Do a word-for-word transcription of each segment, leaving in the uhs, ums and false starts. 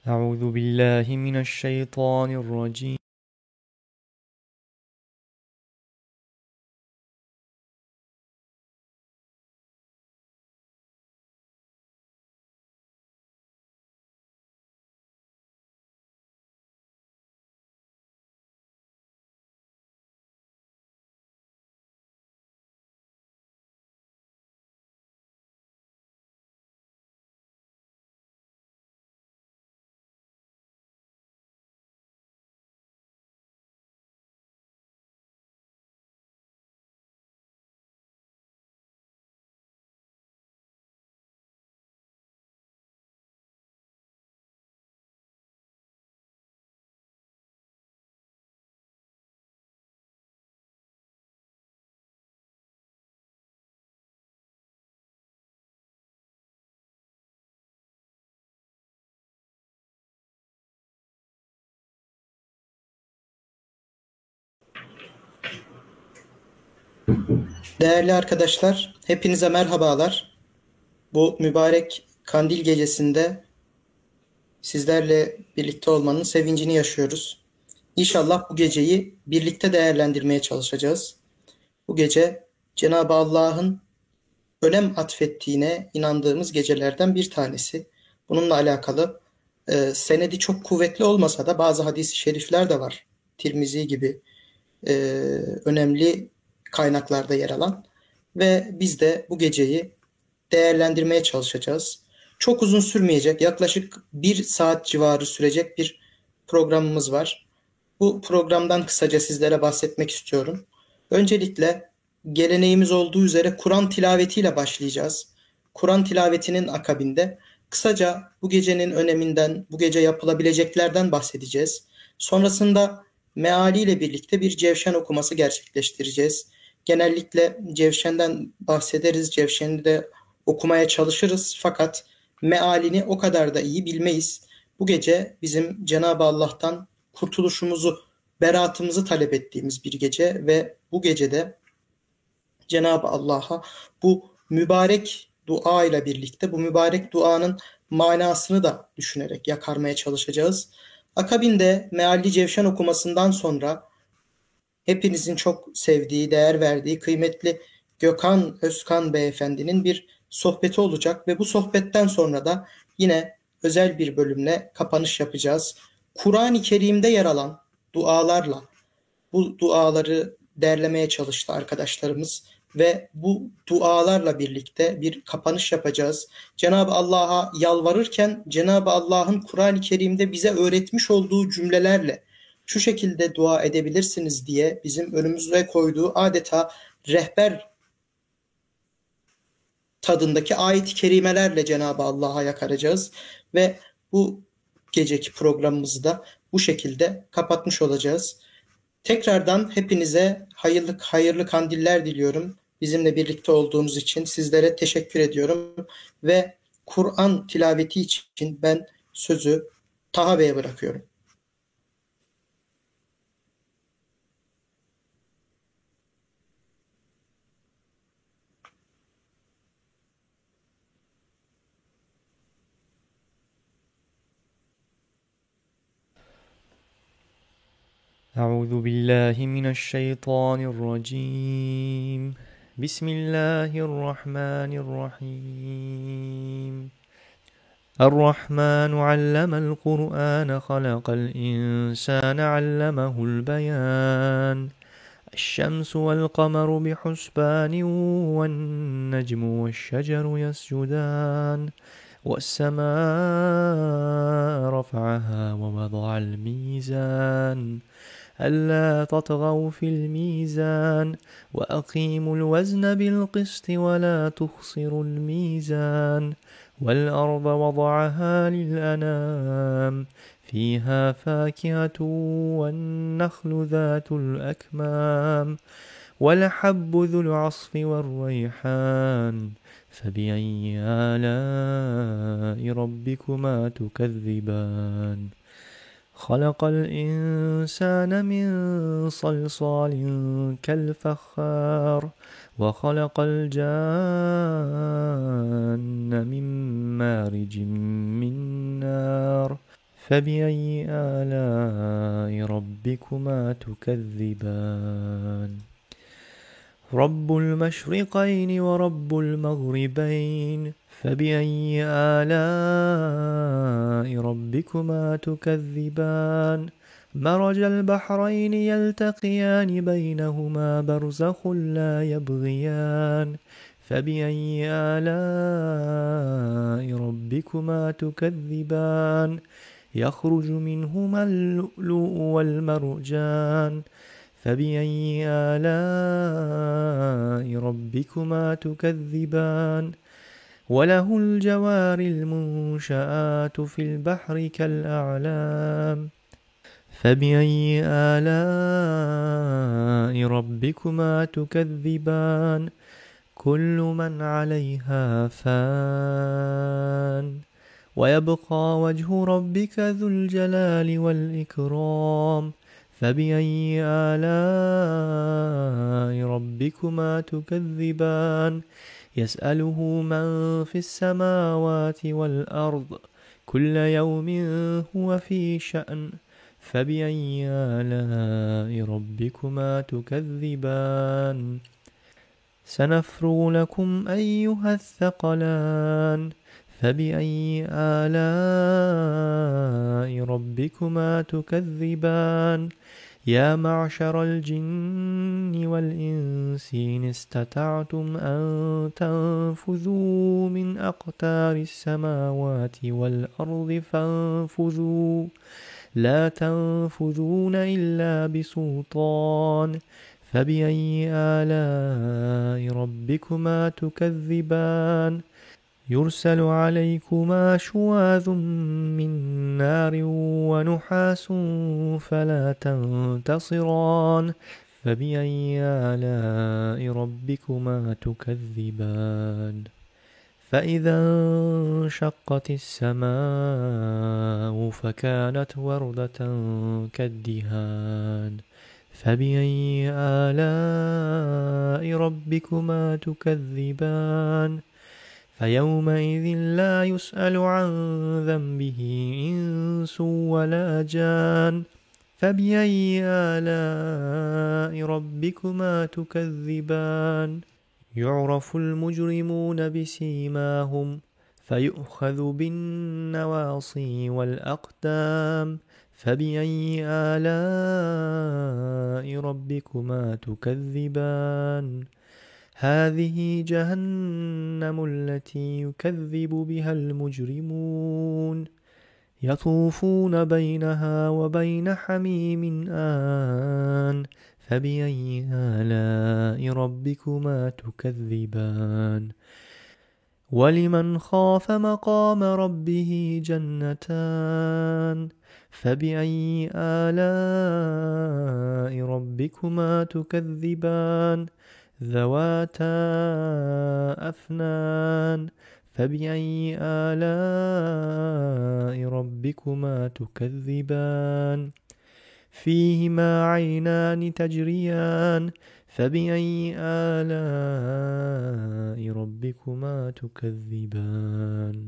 أعوذ بالله من الشيطان الرجيم. Değerli arkadaşlar, hepinize merhabalar. Bu mübarek Kandil gecesinde sizlerle birlikte olmanın sevincini yaşıyoruz. İnşallah bu geceyi birlikte değerlendirmeye çalışacağız. Bu gece Cenab-ı Allah'ın önem atfettiğine inandığımız gecelerden bir tanesi. Bununla alakalı e, senedi çok kuvvetli olmasa da bazı hadis-i şerifler de var. Tirmizi gibi e, önemli kaynaklarda yer alan ve biz de bu geceyi değerlendirmeye çalışacağız. Çok uzun sürmeyecek, yaklaşık bir saat civarı sürecek bir programımız var. Bu programdan kısaca sizlere bahsetmek istiyorum. Öncelikle geleneğimiz olduğu üzere Kur'an tilavetiyle başlayacağız. Kur'an tilavetinin akabinde kısaca bu gecenin öneminden, bu gece yapılabileceklerden bahsedeceğiz. Sonrasında mealiyle birlikte bir cevşen okuması gerçekleştireceğiz. Genellikle cevşenden bahsederiz, cevşeni de okumaya çalışırız fakat mealini o kadar da iyi bilmeyiz. Bu gece bizim Cenab-ı Allah'tan kurtuluşumuzu, beraatımızı talep ettiğimiz bir gece ve bu gecede Cenab-ı Allah'a bu mübarek dua ile birlikte bu mübarek duanın manasını da düşünerek yakarmaya çalışacağız. Akabinde mealli cevşen okumasından sonra hepinizin çok sevdiği, değer verdiği kıymetli Gökhan Özkan Beyefendinin bir sohbeti olacak ve bu sohbetten sonra da yine özel bir bölümle kapanış yapacağız. Kur'an-ı Kerim'de yer alan dualarla bu duaları derlemeye çalıştı arkadaşlarımız ve bu dualarla birlikte bir kapanış yapacağız. Cenab-ı Allah'a yalvarırken Cenab-ı Allah'ın Kur'an-ı Kerim'de bize öğretmiş olduğu cümlelerle şu şekilde dua edebilirsiniz diye bizim önümüze koyduğu adeta rehber tadındaki ayet-i kerimelerle Cenab-ı Allah'a yakaracağız ve bu geceki programımızı da bu şekilde kapatmış olacağız. Tekrardan hepinize hayırlı, hayırlı kandiller diliyorum. Bizimle birlikte olduğunuz için sizlere teşekkür ediyorum ve Kur'an tilaveti için ben sözü Taha Bey'e bırakıyorum. أعوذ بالله من الشيطان الرجيم. بسم الله الرحمن الرحيم. الرحمن علم القرآن خلق الإنسان علمه البيان. الشمس والقمر بحسبان والنجم والشجر يسجدان والسماء رفعها ووضع الميزان ألا تطغوا في الميزان وأقيموا الوزن بالقسط ولا تخسروا الميزان والأرض وضعها للأنام فيها فاكهة والنخل ذات الأكمام والحب ذو العصف والريحان فبأي آلاء ربكما تكذبان خلق الإنسان من صلصال كالفخار وخلق الجان من مارج من نار فبأي آلاء ربكما تكذبان رب المشرقين ورب المغربين فبأي آلاء ربكما تكذبان مرج البحرين يلتقيان بينهما برزخ لا يبغيان فبأي آلاء ربكما تكذبان يخرج منهما اللؤلؤ والمرجان فبأي آلاء ربكما تكذبان وله الجوار المنشآت في البحر كالأعلام فبأي آلاء ربكما تكذبان كل من عليها فان ويبقى وجه ربك ذو الجلال والإكرام فبأي آلاء ربكما تكذبان يسأله من في السماوات والأرض كل يوم هو في شأن فبأي آلاء ربكما تكذبان سنفرغ لكم أيها الثقلان فبأي آلاء ربكما تكذبان يا معشر الجن والإنس إن استطعتم أن تنفذوا من أقطار السماوات والأرض فانفذوا لا تنفذون إلا بسلطان فبأي آلاء ربكما تكذبان يرسل عليكما شواظ من نار ونحاس فلا تنتصران فبأي آلاء ربكما تكذبان فإذا انشقت السماء فكانت وردة كالدهان فبأي آلاء ربكما تكذبان فيومئذ لا يسأل عن ذنبه إنس ولا جان فبأي آلاء ربكما تكذبان يعرف المجرمون بسيماهم فيؤخذ بالنواصي والأقدام فبأي آلاء ربكما تكذبان هذه جهنم التي يكذب بها المجرمون يطوفون بينها وبين حميم آن فبأي آلاء ربكما تكذبان ولمن خاف مقام ربه جنتان فبأي آلاء ربكما تكذبان ذواتا أفنان فبأي آلاء ربكما تكذبان فيهما عينان تجريان فبأي آلاء ربكما تكذبان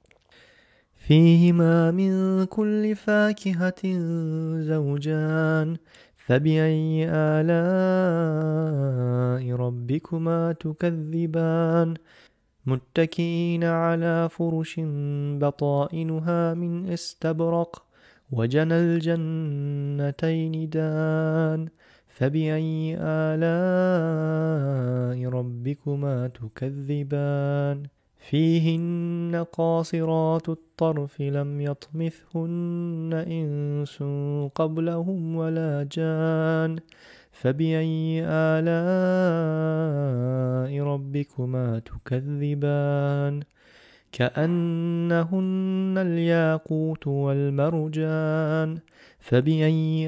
فيهما من كل فاكهة زوجان فبأي آلاء ربكما تكذبان متكئين على فرش بطائنها من استبرق وجنى الجنتين دان فبأي آلاء ربكما تكذبان فيهن قاصرات الطرف لم يطمثهن إنس قبلهم ولا جان فبأي آلاء ربكما تكذبان كأنهن الياقوت والمرجان فبأي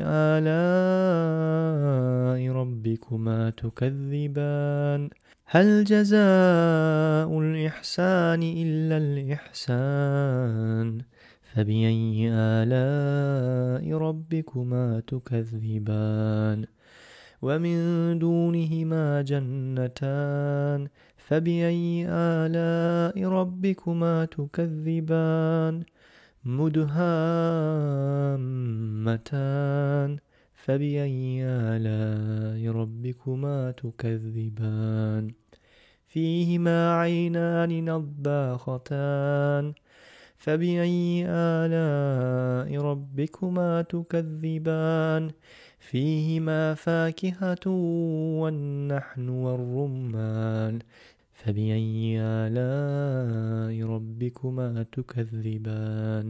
آلاء ربكما تكذبان هل جزاء الإحسان إلا الإحسان فبأي آلاء ربكما تكذبان ومن دونهما جنتان فبأي آلاء ربكما تكذبان مدهامتان فبأي آلاء ربكما تكذبان فيهما عينان نضاختان فبأي آلاء ربكما تكذبان فيهما فاكهة والنحل والرمان فبأي آلاء ربكما تكذبان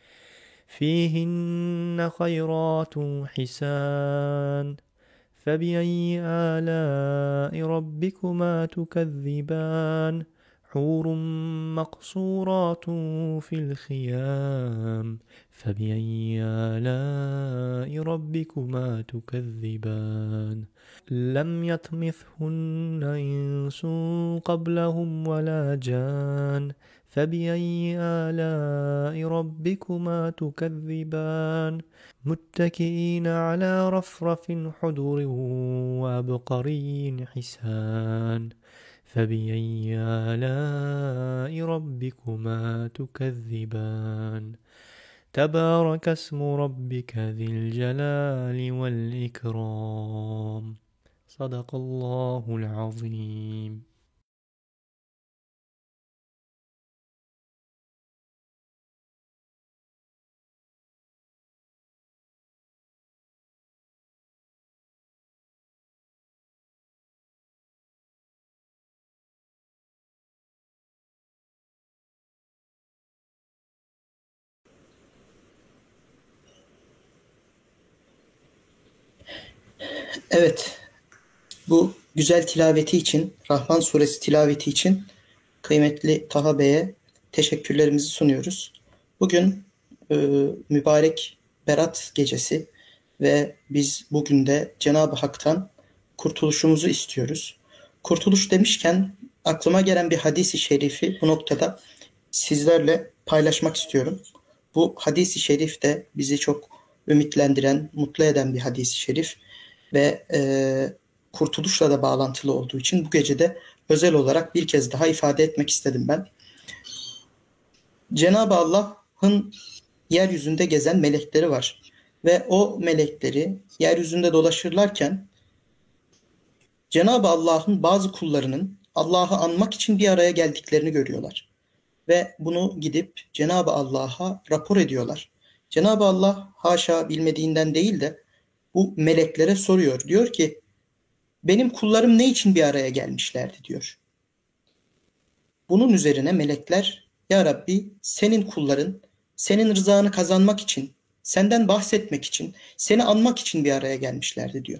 فيهن خيرات حسان فبأي آلاء ربكما تكذبان حور مقصورات في الخيام فبأي آلاء ربكما تكذبان لم يطمثهن إنس قبلهم ولا جان فبأي آلاء ربكما تكذبان متكئين على رفرف حدر وعبقري حسان فبأي آلاء ربكما تكذبان تبارك اسم ربك ذي الجلال والإكرام صدق الله العظيم. Evet, bu güzel tilaveti için, Rahman suresi tilaveti için kıymetli Taha Bey'e teşekkürlerimizi sunuyoruz. Bugün e, mübarek Berat gecesi ve biz bugün de Cenab-ı Hak'tan kurtuluşumuzu istiyoruz. Kurtuluş demişken aklıma gelen bir hadis-i şerifi bu noktada sizlerle paylaşmak istiyorum. Bu hadis-i şerif de bizi çok ümitlendiren, mutlu eden bir hadis-i şerif ve e, kurtuluşla da bağlantılı olduğu için bu gece de özel olarak bir kez daha ifade etmek istedim ben. Cenab-ı Allah'ın yeryüzünde gezen melekleri var ve o melekleri yeryüzünde dolaşırlarken Cenab-ı Allah'ın bazı kullarının Allah'ı anmak için bir araya geldiklerini görüyorlar ve bunu gidip Cenab-ı Allah'a rapor ediyorlar. Cenab-ı Allah haşa bilmediğinden değil de bu meleklere soruyor. Diyor ki benim kullarım ne için bir araya gelmişlerdi diyor. Bunun üzerine melekler ya Rabbi senin kulların senin rızanı kazanmak için, senden bahsetmek için, seni anmak için bir araya gelmişlerdi diyor.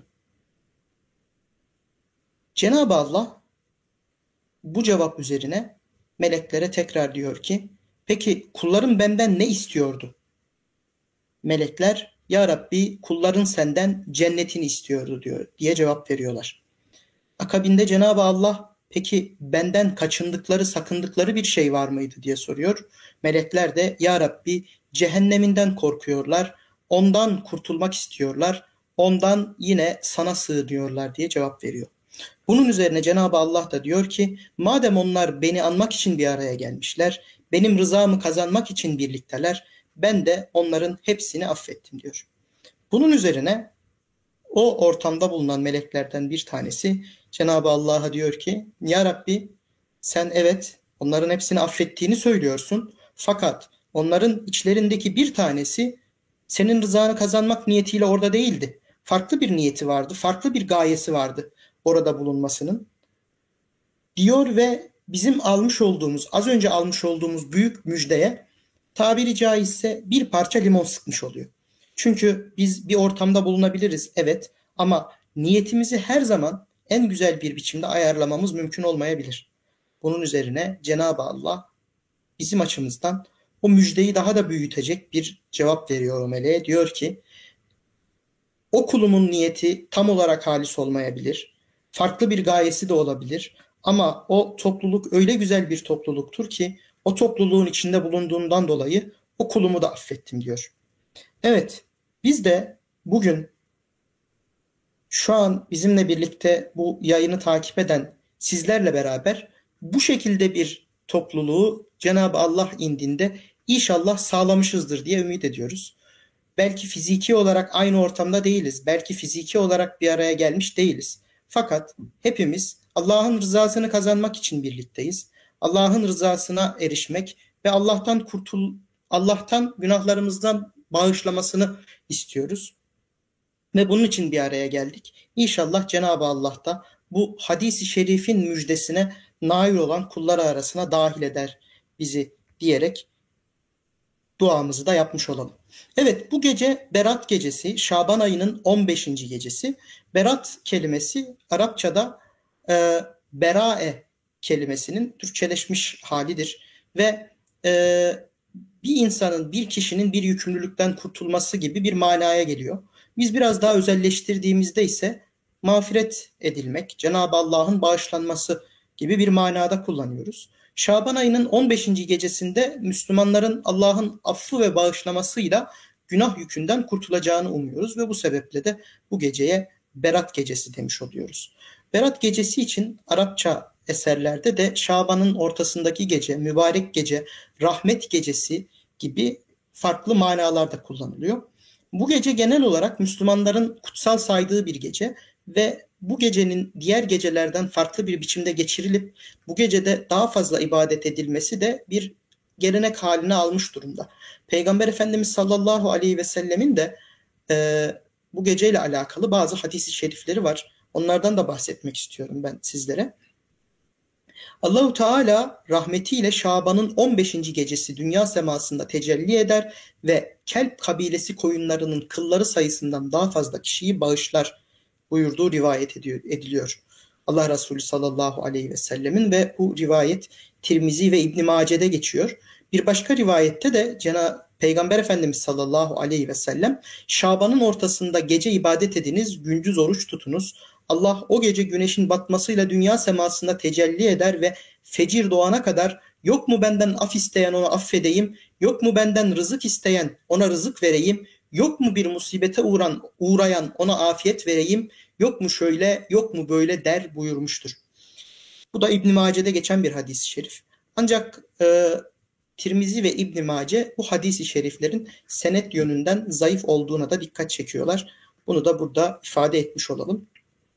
Cenab-ı Allah bu cevap üzerine meleklere tekrar diyor ki peki kullarım benden ne istiyordu? Melekler ya Rabbi kulların senden cennetini istiyordu diyor diye cevap veriyorlar. Akabinde Cenab-ı Allah peki benden kaçındıkları, sakındıkları bir şey var mıydı diye soruyor. Melekler de ya Rabbi cehenneminden korkuyorlar, ondan kurtulmak istiyorlar, ondan yine sana sığınıyorlar diye cevap veriyor. Bunun üzerine Cenab-ı Allah da diyor ki madem onlar beni anmak için bir araya gelmişler, benim rızamı kazanmak için birlikteler, ben de onların hepsini affettim diyor. Bunun üzerine o ortamda bulunan meleklerden bir tanesi Cenab-ı Allah'a diyor ki ya Rabbi sen evet onların hepsini affettiğini söylüyorsun fakat onların içlerindeki bir tanesi senin rızanı kazanmak niyetiyle orada değildi. Farklı bir niyeti vardı, farklı bir gayesi vardı orada bulunmasının diyor ve bizim almış olduğumuz, az önce almış olduğumuz büyük müjdeye tabiri caizse bir parça limon sıkmış oluyor. Çünkü biz bir ortamda bulunabiliriz evet ama niyetimizi her zaman en güzel bir biçimde ayarlamamız mümkün olmayabilir. Bunun üzerine Cenab-ı Allah bizim açımızdan o müjdeyi daha da büyütecek bir cevap veriyor o meleğe. Diyor ki o kulumun niyeti tam olarak halis olmayabilir. Farklı bir gayesi de olabilir. Ama o topluluk öyle güzel bir topluluktur ki o topluluğun içinde bulunduğundan dolayı o kulumu da affettim diyor. Evet, biz de bugün şu an bizimle birlikte bu yayını takip eden sizlerle beraber bu şekilde bir topluluğu Cenab-ı Allah indinde İnşallah sağlamışızdır diye ümit ediyoruz. Belki fiziki olarak aynı ortamda değiliz. Belki fiziki olarak bir araya gelmiş değiliz. Fakat hepimiz Allah'ın rızasını kazanmak için birlikteyiz. Allah'ın rızasına erişmek ve Allah'tan kurtul Allah'tan günahlarımızdan bağışlamasını istiyoruz. Ve bunun için bir araya geldik. İnşallah Cenab-ı Allah da bu hadis-i şerifin müjdesine nail olan kulları arasına dahil eder bizi diyerek duamızı da yapmış olalım. Evet, bu gece Berat gecesi, Şaban ayının on beşinci gecesi. Berat kelimesi Arapçada e, berae kelimesinin Türkçeleşmiş halidir. Ve e, bir insanın, bir kişinin bir yükümlülükten kurtulması gibi bir manaya geliyor. Biz biraz daha özelleştirdiğimizde ise mağfiret edilmek, Cenab-ı Allah'ın bağışlanması gibi bir manada kullanıyoruz. Şaban ayının on beşinci gecesinde Müslümanların Allah'ın affı ve bağışlamasıyla günah yükünden kurtulacağını umuyoruz ve bu sebeple de bu geceye Berat gecesi demiş oluyoruz. Berat gecesi için Arapça eserlerde de Şaban'ın ortasındaki gece, mübarek gece, rahmet gecesi gibi farklı manalarda kullanılıyor. Bu gece genel olarak Müslümanların kutsal saydığı bir gece ve bu gecenin diğer gecelerden farklı bir biçimde geçirilip bu gecede daha fazla ibadet edilmesi de bir gelenek haline almış durumda. Peygamber Efendimiz sallallahu aleyhi ve sellemin de e, bu geceyle alakalı bazı hadis-i şerifleri var. Onlardan da bahsetmek istiyorum ben sizlere. Allahu Teala rahmetiyle Şaban'ın on beşinci gecesi dünya semasında tecelli eder ve Kelp kabilesi koyunlarının kılları sayısından daha fazla kişiyi bağışlar buyurduğu rivayet ediyor, ediliyor. Allah Resulü sallallahu aleyhi ve sellemin ve bu rivayet Tirmizi ve İbn Mace'de geçiyor. Bir başka rivayette de Cenab-ı Peygamber Efendimiz sallallahu aleyhi ve sellem Şaban'ın ortasında gece ibadet ediniz, gündüz oruç tutunuz. Allah o gece güneşin batmasıyla dünya semasında tecelli eder ve fecir doğana kadar yok mu benden af isteyen onu affedeyim, yok mu benden rızık isteyen ona rızık vereyim, yok mu bir musibete uğran, uğrayan ona afiyet vereyim, yok mu şöyle, yok mu böyle der buyurmuştur. Bu da İbn Mace'de geçen bir hadis-i şerif. Ancak e, Tirmizi ve İbn Mace bu hadis-i şeriflerin senet yönünden zayıf olduğuna da dikkat çekiyorlar. Bunu da burada ifade etmiş olalım.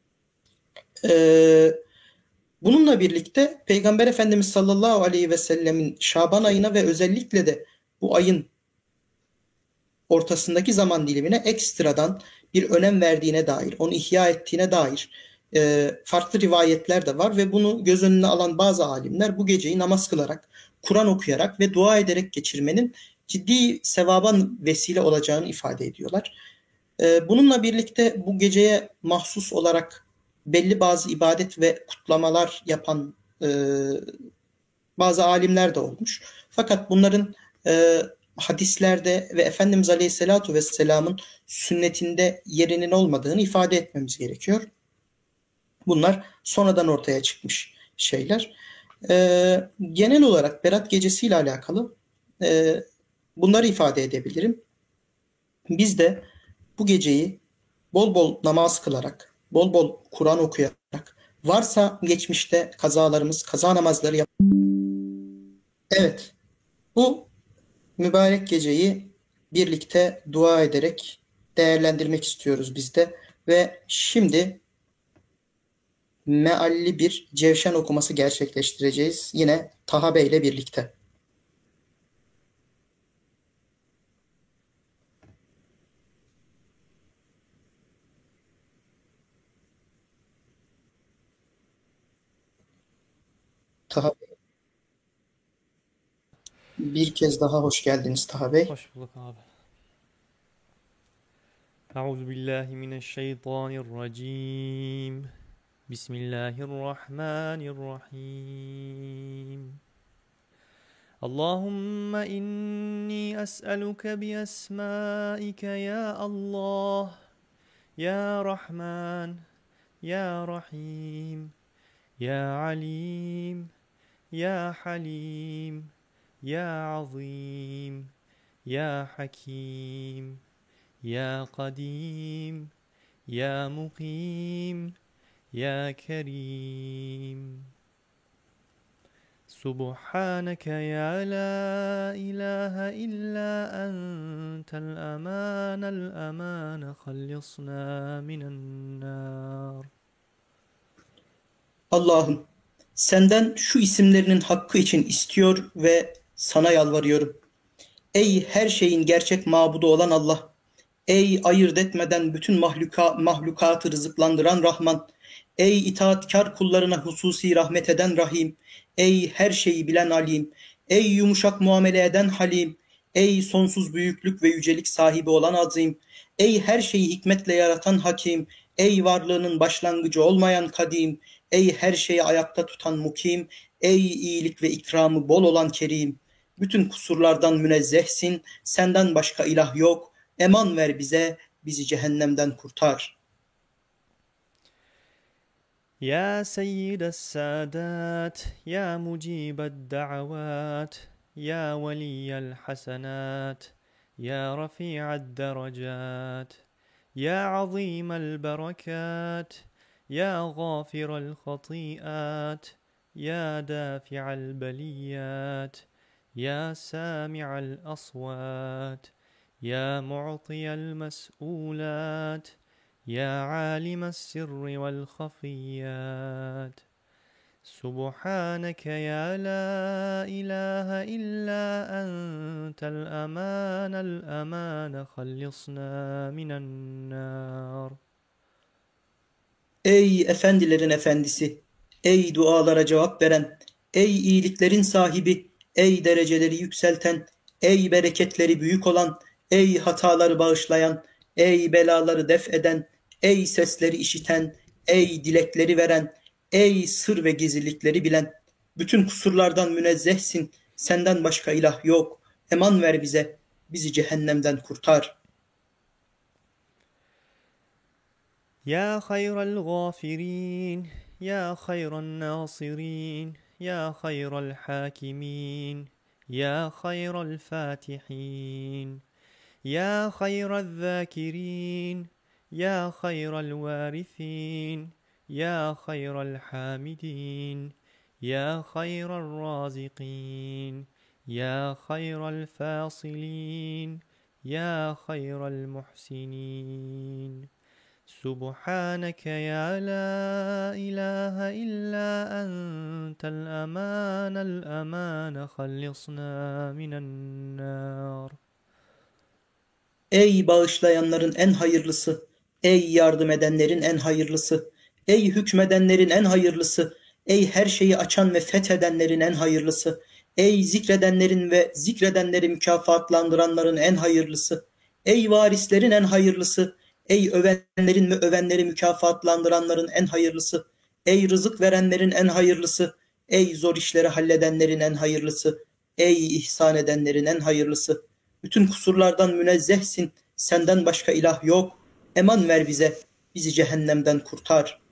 Ee, bununla birlikte Peygamber Efendimiz sallallahu aleyhi ve sellemin Şaban ayına ve özellikle de bu ayın ortasındaki zaman dilimine ekstradan bir önem verdiğine dair, onu ihya ettiğine dair e, farklı rivayetler de var ve bunu göz önüne alan bazı alimler bu geceyi namaz kılarak, Kur'an okuyarak ve dua ederek geçirmenin ciddi sevaba vesile olacağını ifade ediyorlar. E, bununla birlikte bu geceye mahsus olarak belli bazı ibadet ve kutlamalar yapan e, bazı alimler de olmuş. Fakat bunların e, hadislerde ve Efendimiz Aleyhisselatü Vesselam'ın sünnetinde yerinin olmadığını ifade etmemiz gerekiyor. Bunlar sonradan ortaya çıkmış şeyler. E, genel olarak Berat Gecesi ile alakalı e, bunları ifade edebilirim. Biz de bu geceyi bol bol namaz kılarak, bol bol Kur'an okuyarak, varsa geçmişte kazalarımız, kaza namazları yap. Evet, bu mübarek geceyi birlikte dua ederek değerlendirmek istiyoruz biz de. Ve şimdi mealli bir cevşen okuması gerçekleştireceğiz. Yine Taha Bey ile birlikte. Taha Bey, bir kez daha hoş geldiniz Taha Bey. Hoş bulduk abi. Euzu billahi mineşşeytanirracim. Bismillahirrahmanirrahim. Allahümme inni es'eluke bi esmaike ya Allah, ya Rahman, ya Rahim, ya Alim, ya Halim, ya Azim, ya Hakim, ya Kadim, ya Mukim, ya Kerim. سبحانك يا لا إله إلا أنت الأمان الأمان خلصنا من النار. Allah'ım, senden şu isimlerinin hakkı için istiyor ve sana yalvarıyorum. Ey her şeyin gerçek mabudu olan Allah! Ey ayırt etmeden bütün mahluka, mahlukatı rızıklandıran Rahman! Ey itaatkar kullarına hususi rahmet eden Rahim! Ey her şeyi bilen Alim! Ey yumuşak muamele eden Halim! Ey sonsuz büyüklük ve yücelik sahibi olan Azim! Ey her şeyi hikmetle yaratan Hakim! Ey varlığının başlangıcı olmayan Kadim! Ey her şeyi ayakta tutan Mukim! Ey iyilik ve ikramı bol olan Kerim! Bütün kusurlardan münezzehsin, senden başka ilah yok. Eman ver bize, bizi cehennemden kurtar. يا سيد السادات يا مجيب الدعوات يا ولي الحسنات يا رفيع الدرجات يا عظيم البركات يا غافر الخطيئات يا دافع البليات يا سامع الأصوات يا معطي المسؤولات يا عالم السر والخفيات سبحانك يا لا إله إلا أنت الأمان الأمان خلصنا من النار. Ey efendilerin efendisi, ey dualara cevap veren, ey iyiliklerin sahibi, ey dereceleri yükselten, ey bereketleri büyük olan, ey hataları bağışlayan, ey belaları def eden, ey sesleri işiten, ey dilekleri veren, ey sır ve gizlilikleri bilen, bütün kusurlardan münezzehsin, senden başka ilah yok. Eman ver bize, bizi cehennemden kurtar. يا خير الغافرين يا خير الناصرين يا خير الحاكمين يا خير الفاتحين يا خير الذاكرين يا خير الوارثين يا خير الحامدين يا خير الرازقين يا خير الفاصلين يا خير المحسنين سبحانك يا لا إله إلا أنت الأمان الأمان خلصنا من النار. Ey bağışlayanların en hayırlısı, ey yardım edenlerin en hayırlısı, ey hükmedenlerin en hayırlısı, ey her şeyi açan ve fethedenlerin en hayırlısı, ey zikredenlerin ve zikredenleri mükafatlandıranların en hayırlısı, ey varislerin en hayırlısı, ey övenlerin ve övenleri mükafatlandıranların en hayırlısı, ey rızık verenlerin en hayırlısı, ey zor işleri halledenlerin en hayırlısı, ey ihsan edenlerin en hayırlısı. Bütün kusurlardan münezzehsin, senden başka ilah yok. Eman ver bize, bizi cehennemden kurtar.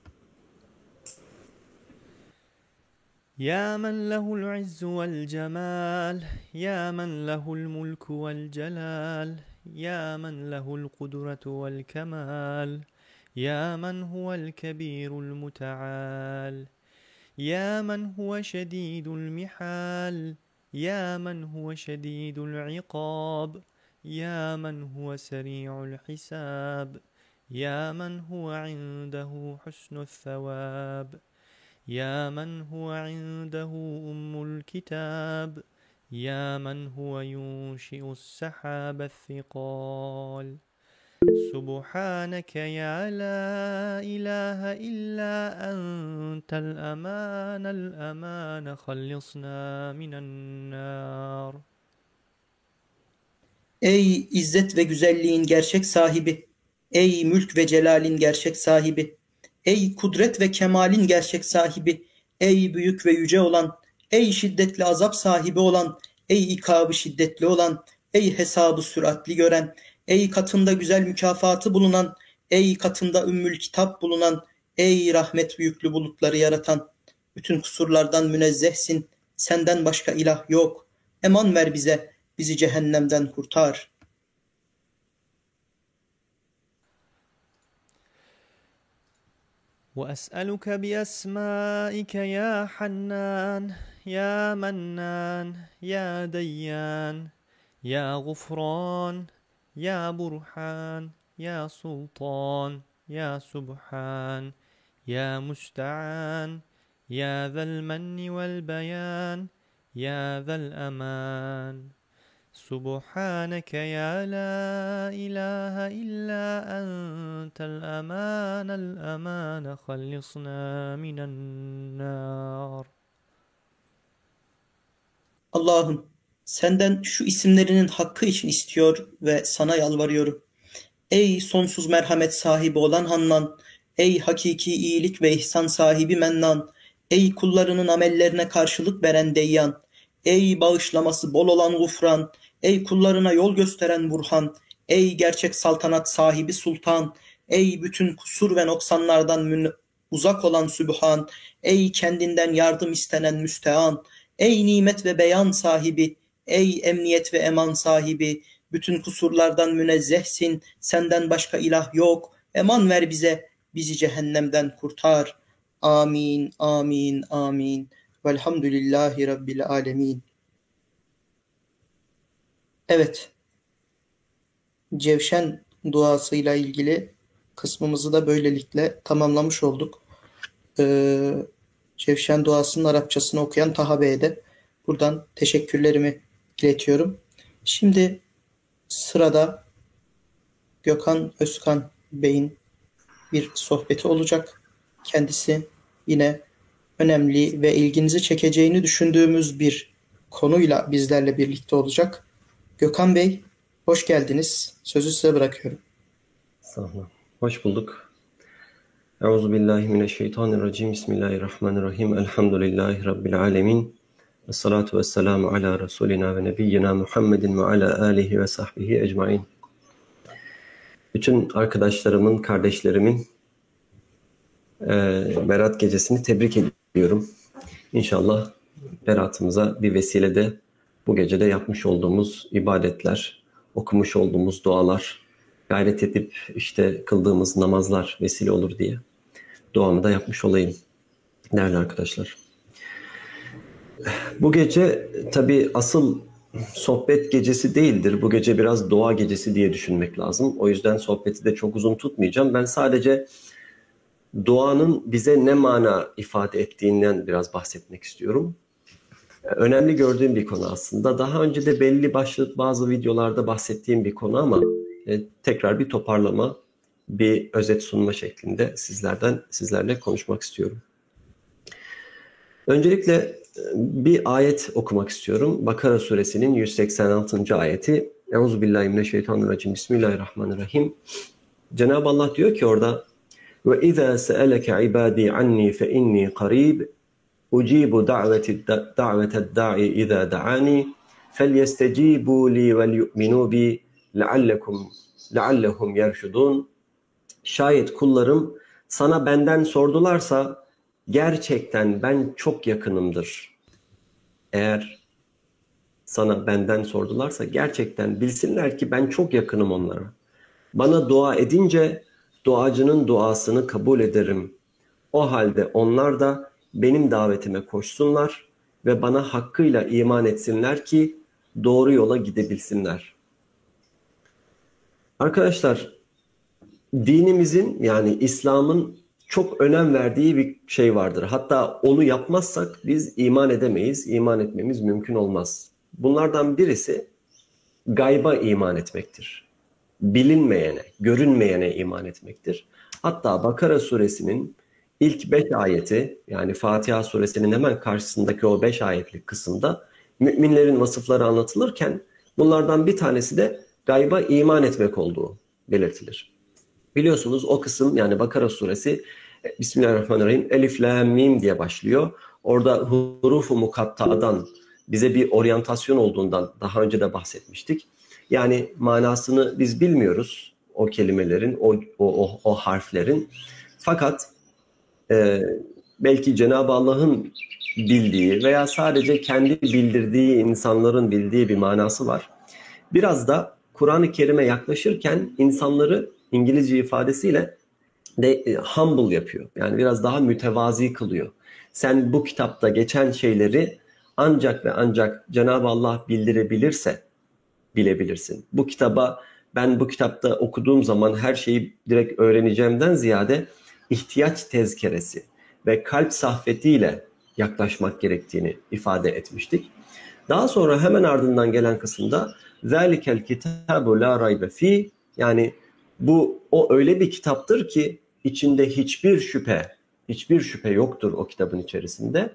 يا من له العز والجمال يا من له الملك والجلال يا من له القدرة والكمال يا من هو الكبير المتعال يا من هو شديد المحال يا من هو شديد العقاب يا من هو سريع الحساب يا من هو عنده حسن الثواب يا من هو عنده أم الكتاب يا من هو ينشئ السحاب الثقال سبحانك يا لا إله إلا أنت الأمان الأمان خلصنا من النار. Ey izzet ve güzelliğin gerçek sahibi, ey mülk ve celalin gerçek sahibi, ey kudret ve kemalin gerçek sahibi, ey büyük ve yüce olan, ey şiddetli azap sahibi olan, ey ikabı şiddetli olan, ey hesabı süratli gören, ey katında güzel mükafatı bulunan, ey katında ümmül kitap bulunan, ey rahmet büyüklü bulutları yaratan, bütün kusurlardan münezzehsin, senden başka ilah yok. Eman ver bize, bizi cehennemden kurtar. وأسألك بأسمائك يا حنان يا منان يا ديان يا غفران يا برحان يا سلطان يا سبحان يا مستعان يا ذا المن والبيان يا ذا الأمان سبحانك يا لا إله إلا أنت الأمان الأمان خلصنا من النار. Allah'ım, senden şu isimlerinin hakkı için istiyor ve sana yalvarıyorum. Ey sonsuz merhamet sahibi olan Hannan, ey hakiki iyilik ve ihsan sahibi Mennan, ey kullarının amellerine karşılık veren Deyyan, ey bağışlaması bol olan Gufran, ey kullarına yol gösteren Burhan, ey gerçek saltanat sahibi Sultan, ey bütün kusur ve noksanlardan uzak olan Sübhan, ey kendinden yardım istenen Müstean, ey nimet ve beyan sahibi, ey emniyet ve eman sahibi, bütün kusurlardan münezzehsin, senden başka ilah yok, eman ver bize, bizi cehennemden kurtar. Amin, amin, amin. Velhamdülillahi Rabbil alemin. Evet, Cevşen duasıyla ilgili kısmımızı da böylelikle tamamlamış olduk. Ee, Cevşen duasının Arapçasını okuyan Taha Bey'e de buradan teşekkürlerimi iletiyorum. Şimdi sırada Gökhan Özkan Bey'in bir sohbeti olacak. Kendisi yine önemli ve ilginizi çekeceğini düşündüğümüz bir konuyla bizlerle birlikte olacak. Gökhan Bey, hoş geldiniz. Sözü size bırakıyorum. Sağ olun. Hoş bulduk. Euzubillahimineşşeytanirracim. Bismillahirrahmanirrahim. Elhamdülillahi Rabbil alemin. Esselatu vesselamu ala Resulina ve Nebiyyina Muhammedin ve ala alihi ve sahbihi ecmain. Bütün arkadaşlarımın, kardeşlerimin e, Berat gecesini tebrik ediyorum. İnşallah beratımıza bir vesile de bu gecede yapmış olduğumuz ibadetler, okumuş olduğumuz dualar, gayret edip işte kıldığımız namazlar vesile olur diye duamı da yapmış olayım değerli arkadaşlar. Bu gece tabii asıl sohbet gecesi değildir. Bu gece biraz dua gecesi diye düşünmek lazım. O yüzden sohbeti de çok uzun tutmayacağım. Ben sadece duanın bize ne mana ifade ettiğinden biraz bahsetmek istiyorum. Önemli gördüğüm bir konu aslında. Daha önce de belli başlı bazı videolarda bahsettiğim bir konu ama e, tekrar bir toparlama, bir özet sunma şeklinde sizlerden sizlerle konuşmak istiyorum. Öncelikle bir ayet okumak istiyorum. Bakara suresinin yüz seksen altıncı ayeti. Euzubillahimineşşeytanirracim. Bismillahirrahmanirrahim. Cenab-ı Allah diyor ki orada: "Ve izâ se'eleke ibâdî annî fe innî qarîb ucibu da'veted da'i izâ da'ani felyestecîbû lî vel yu'minû bi leallekum leallehum yerşudûn." Şayet kullarım sana benden sordularsa gerçekten ben çok yakınımdır. Eğer sana benden sordularsa gerçekten bilsinler ki ben çok yakınım onlara. Bana dua edince duacının duasını kabul ederim. O halde onlar da benim davetime koşsunlar ve bana hakkıyla iman etsinler ki doğru yola gidebilsinler. Arkadaşlar, dinimizin yani İslam'ın çok önem verdiği bir şey vardır. Hatta onu yapmazsak biz iman edemeyiz, iman etmemiz mümkün olmaz. Bunlardan birisi gayba iman etmektir. Bilinmeyene, görünmeyene iman etmektir. Hatta Bakara suresinin ilk beş ayeti, yani Fatiha suresinin hemen karşısındaki o beş ayetlik kısımda müminlerin vasıfları anlatılırken bunlardan bir tanesi de gayba iman etmek olduğu belirtilir. Biliyorsunuz o kısım, yani Bakara suresi Bismillahirrahmanirrahim Elif Lam Mim diye başlıyor. Orada hurufu mukatta'dan bize bir oryantasyon olduğundan daha önce de bahsetmiştik. Yani manasını biz bilmiyoruz o kelimelerin, o, o, o, o harflerin. Fakat e, belki Cenab-ı Allah'ın bildiği veya sadece kendi bildirdiği insanların bildiği bir manası var. Biraz da Kur'an-ı Kerim'e yaklaşırken insanları İngilizce ifadesiyle de e, humble yapıyor. Yani biraz daha mütevazi kılıyor. Sen bu kitapta geçen şeyleri ancak ve ancak Cenab-ı Allah bildirebilirse bilebilirsin. Bu kitaba ben bu kitapta okuduğum zaman her şeyi direkt öğreneceğimden ziyade ihtiyaç tezkeresi ve kalp sahfetiyle yaklaşmak gerektiğini ifade etmiştik. Daha sonra hemen ardından gelen kısımda ذَٰلِكَ الْكِتَابُ لَا رَيْبَ ف۪ي, yani bu o öyle bir kitaptır ki içinde hiçbir şüphe, hiçbir şüphe yoktur o kitabın içerisinde.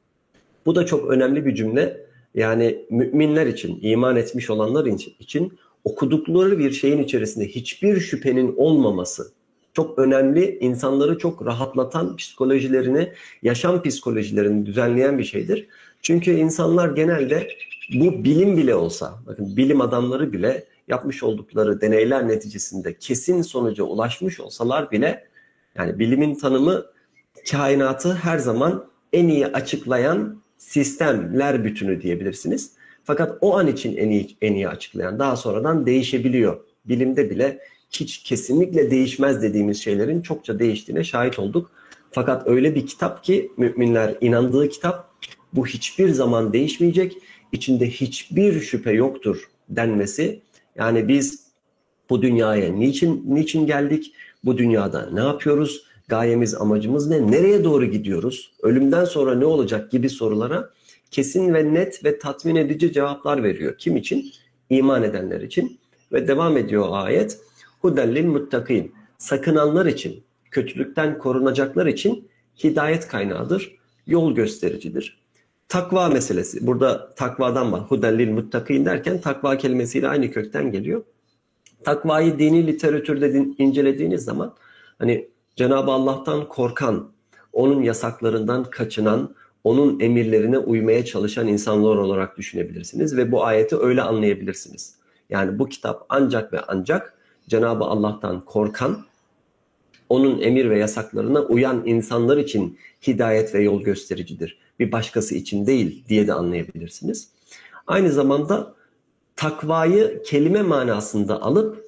Bu da çok önemli bir cümle. Yani müminler için, iman etmiş olanlar için okudukları bir şeyin içerisinde hiçbir şüphenin olmaması çok önemli, insanları çok rahatlatan, psikolojilerini, yaşam psikolojilerini düzenleyen bir şeydir. Çünkü insanlar genelde bu bilim bile olsa, bakın bilim adamları bile yapmış oldukları deneyler neticesinde kesin sonuca ulaşmış olsalar bile, yani bilimin tanımı kainatı her zaman en iyi açıklayan sistemler bütünü diyebilirsiniz. Fakat o an için en iyi, en iyi açıklayan daha sonradan değişebiliyor. Bilimde bile hiç kesinlikle değişmez dediğimiz şeylerin çokça değiştiğine şahit olduk. Fakat öyle bir kitap ki müminler inandığı kitap, bu hiçbir zaman değişmeyecek, içinde hiçbir şüphe yoktur denmesi. Yani biz bu dünyaya niçin niçin geldik? Bu dünyada ne yapıyoruz? Gayemiz, amacımız ne? Nereye doğru gidiyoruz? Ölümden sonra ne olacak gibi sorulara kesin ve net ve tatmin edici cevaplar veriyor. Kim için? İman edenler için. Ve devam ediyor ayet. Hudellil muttakin. Sakınanlar için, kötülükten korunacaklar için hidayet kaynağıdır, yol göstericidir. Takva meselesi. Burada takvadan var. Hudellil muttakin derken takva kelimesiyle aynı kökten geliyor. Takvayı dini literatürde din, incelediğiniz zaman hani Cenab-ı Allah'tan korkan, onun yasaklarından kaçınan, onun emirlerine uymaya çalışan insanlar olarak düşünebilirsiniz ve bu ayeti öyle anlayabilirsiniz. Yani bu kitap ancak ve ancak Cenab-ı Allah'tan korkan, onun emir ve yasaklarına uyan insanlar için hidayet ve yol göstericidir. Bir başkası için değil diye de anlayabilirsiniz. Aynı zamanda takvayı kelime manasında alıp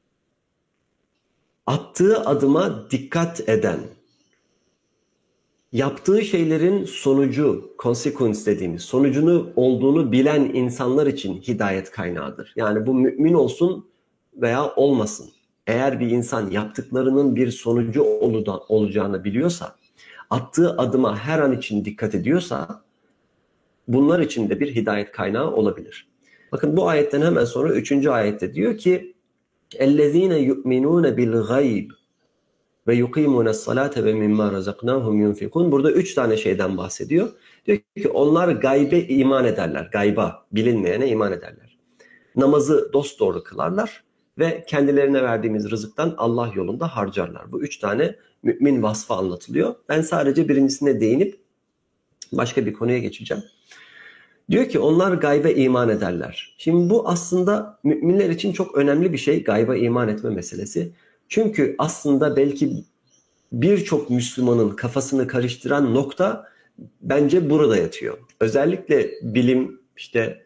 attığı adıma dikkat eden, yaptığı şeylerin sonucu, consequence dediğimiz, sonucunu olduğunu bilen insanlar için hidayet kaynağıdır. Yani bu mümin olsun veya olmasın. Eğer bir insan yaptıklarının bir sonucu olacağını biliyorsa, attığı adıma her an için dikkat ediyorsa, bunlar için de bir hidayet kaynağı olabilir. Bakın bu ayetten hemen sonra üçüncü ayette diyor ki اَلَّذ۪ينَ يُؤْمِنُونَ بِالْغَيْبِ ve yuqimuna salate ve mimma razaknahum yunfikun. Burada üç tane şeyden bahsediyor. Diyor ki onlar gaybe iman ederler. Gayba, bilinmeyene iman ederler. Namazı dosdoğru kılarlar ve kendilerine verdiğimiz rızıktan Allah yolunda harcarlar. Bu üç tane mümin vasfı anlatılıyor. Ben sadece birincisine değinip başka bir konuya geçeceğim. Diyor ki onlar gaybe iman ederler. Şimdi bu aslında müminler için çok önemli bir şey, gaybe iman etme meselesi. Çünkü aslında belki birçok Müslümanın kafasını karıştıran nokta bence burada yatıyor. Özellikle bilim işte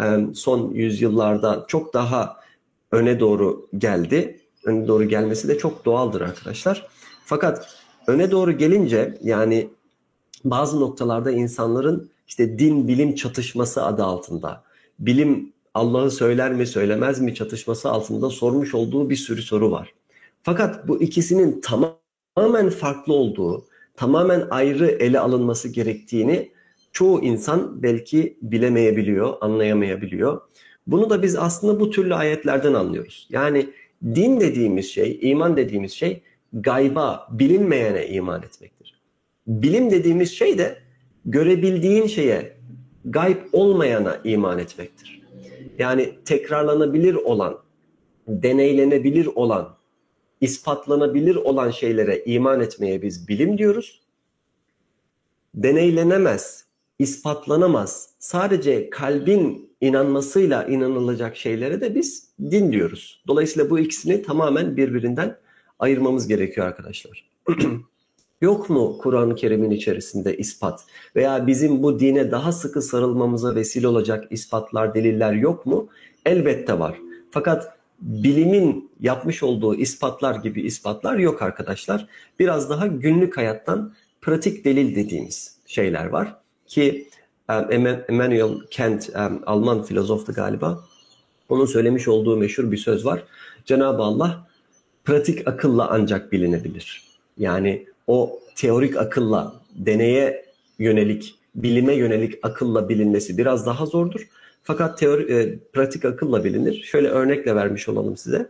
son yüzyıllarda çok daha öne doğru geldi. Öne doğru gelmesi de çok doğaldır arkadaşlar. Fakat öne doğru gelince yani bazı noktalarda insanların işte din bilim çatışması adı altında, bilim Allah'ı söyler mi söylemez mi çatışması altında sormuş olduğu bir sürü soru var. Fakat bu ikisinin tamamen farklı olduğu, tamamen ayrı ele alınması gerektiğini çoğu insan belki bilemeyebiliyor, anlayamayabiliyor. Bunu da biz aslında bu türlü ayetlerden anlıyoruz. Yani din dediğimiz şey, iman dediğimiz şey gayba, bilinmeyene iman etmektir. Bilim dediğimiz şey de görebildiğin şeye, gayb olmayana iman etmektir. Yani tekrarlanabilir olan, deneylenebilir olan, ispatlanabilir olan şeylere iman etmeye biz bilim diyoruz. Deneylenemez, ispatlanamaz, sadece kalbin inanmasıyla inanılacak şeylere de biz din diyoruz. Dolayısıyla bu ikisini tamamen birbirinden ayırmamız gerekiyor arkadaşlar. Yok mu Kur'an-ı Kerim'in içerisinde ispat veya bizim bu dine daha sıkı sarılmamıza vesile olacak ispatlar, deliller yok mu? Elbette var. Fakat bilimin yapmış olduğu ispatlar gibi ispatlar yok arkadaşlar. Biraz daha günlük hayattan pratik delil dediğimiz şeyler var ki Immanuel Kant, Alman filozoftu galiba, onun söylemiş olduğu meşhur bir söz var. Cenab-ı Allah pratik akılla ancak bilinebilir. Yani o teorik akılla, deneye yönelik, bilime yönelik akılla bilinmesi biraz daha zordur. Fakat teori, e, pratik akılla bilinir. Şöyle örnekle vermiş olalım size.